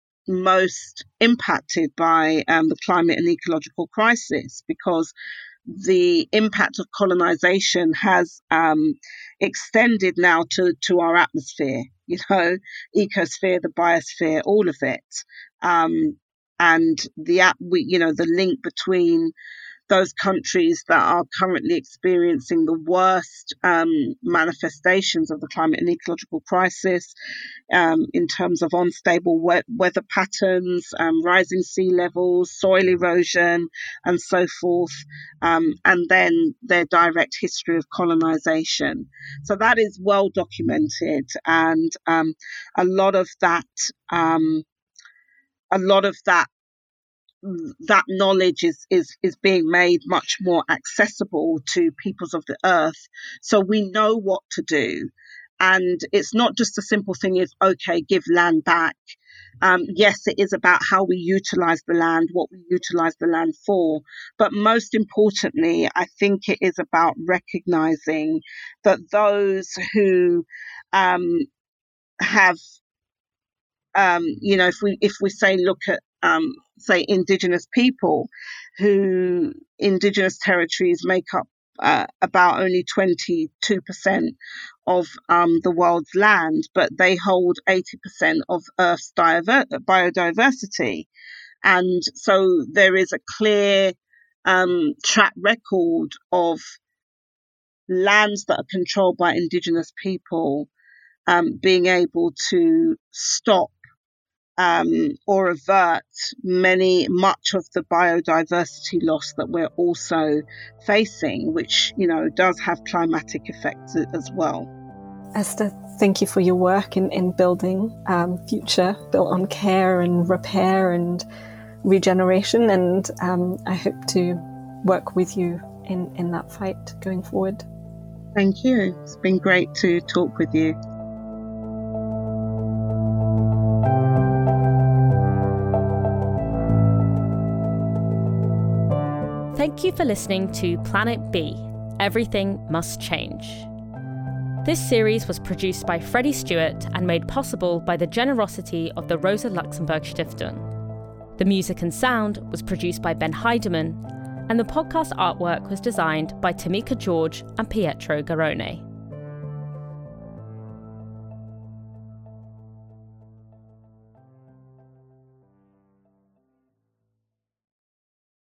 S2: most impacted by um, the climate and ecological crisis, because the impact of colonization has um, extended now to, to our atmosphere, you know, ecosphere, the biosphere, all of it. Um, and the, we, you know, the link between those countries that are currently experiencing the worst um, manifestations of the climate and ecological crisis um, in terms of unstable we- weather patterns, um, rising sea levels, soil erosion, and so forth, um, and then their direct history of colonization. So that is well documented, and um, a lot of that, um, a lot of that that knowledge is, is, is being made much more accessible to peoples of the earth. So we know what to do. And it's not just a simple thing of, okay, give land back. Um, yes, it is about how we utilize the land, what we utilize the land for. But most importantly, I think it is about recognizing that those who um, have, um, you know, if we if we say look at um, say Indigenous people, who Indigenous territories make up uh, about only twenty-two percent of um, the world's land, but they hold eighty percent of Earth's diver- biodiversity. And so there is a clear um, track record of lands that are controlled by Indigenous people um, being able to stop Um, or avert many much of the biodiversity loss that we're also facing, which, you know, does have climatic effects as well.
S1: Esther, thank you for your work in, in building um, future built on care and repair and regeneration, and um, I hope to work with you in, in that fight going forward.
S2: Thank you. It's been great to talk with you.
S3: Thank you for listening to Planet B, Everything Must Change. This series was produced by Freddie Stewart and made possible by the generosity of the Rosa Luxemburg Stiftung. The music and sound was produced by Ben Heidemann, and the podcast artwork was designed by Tamika George and Pietro Garone.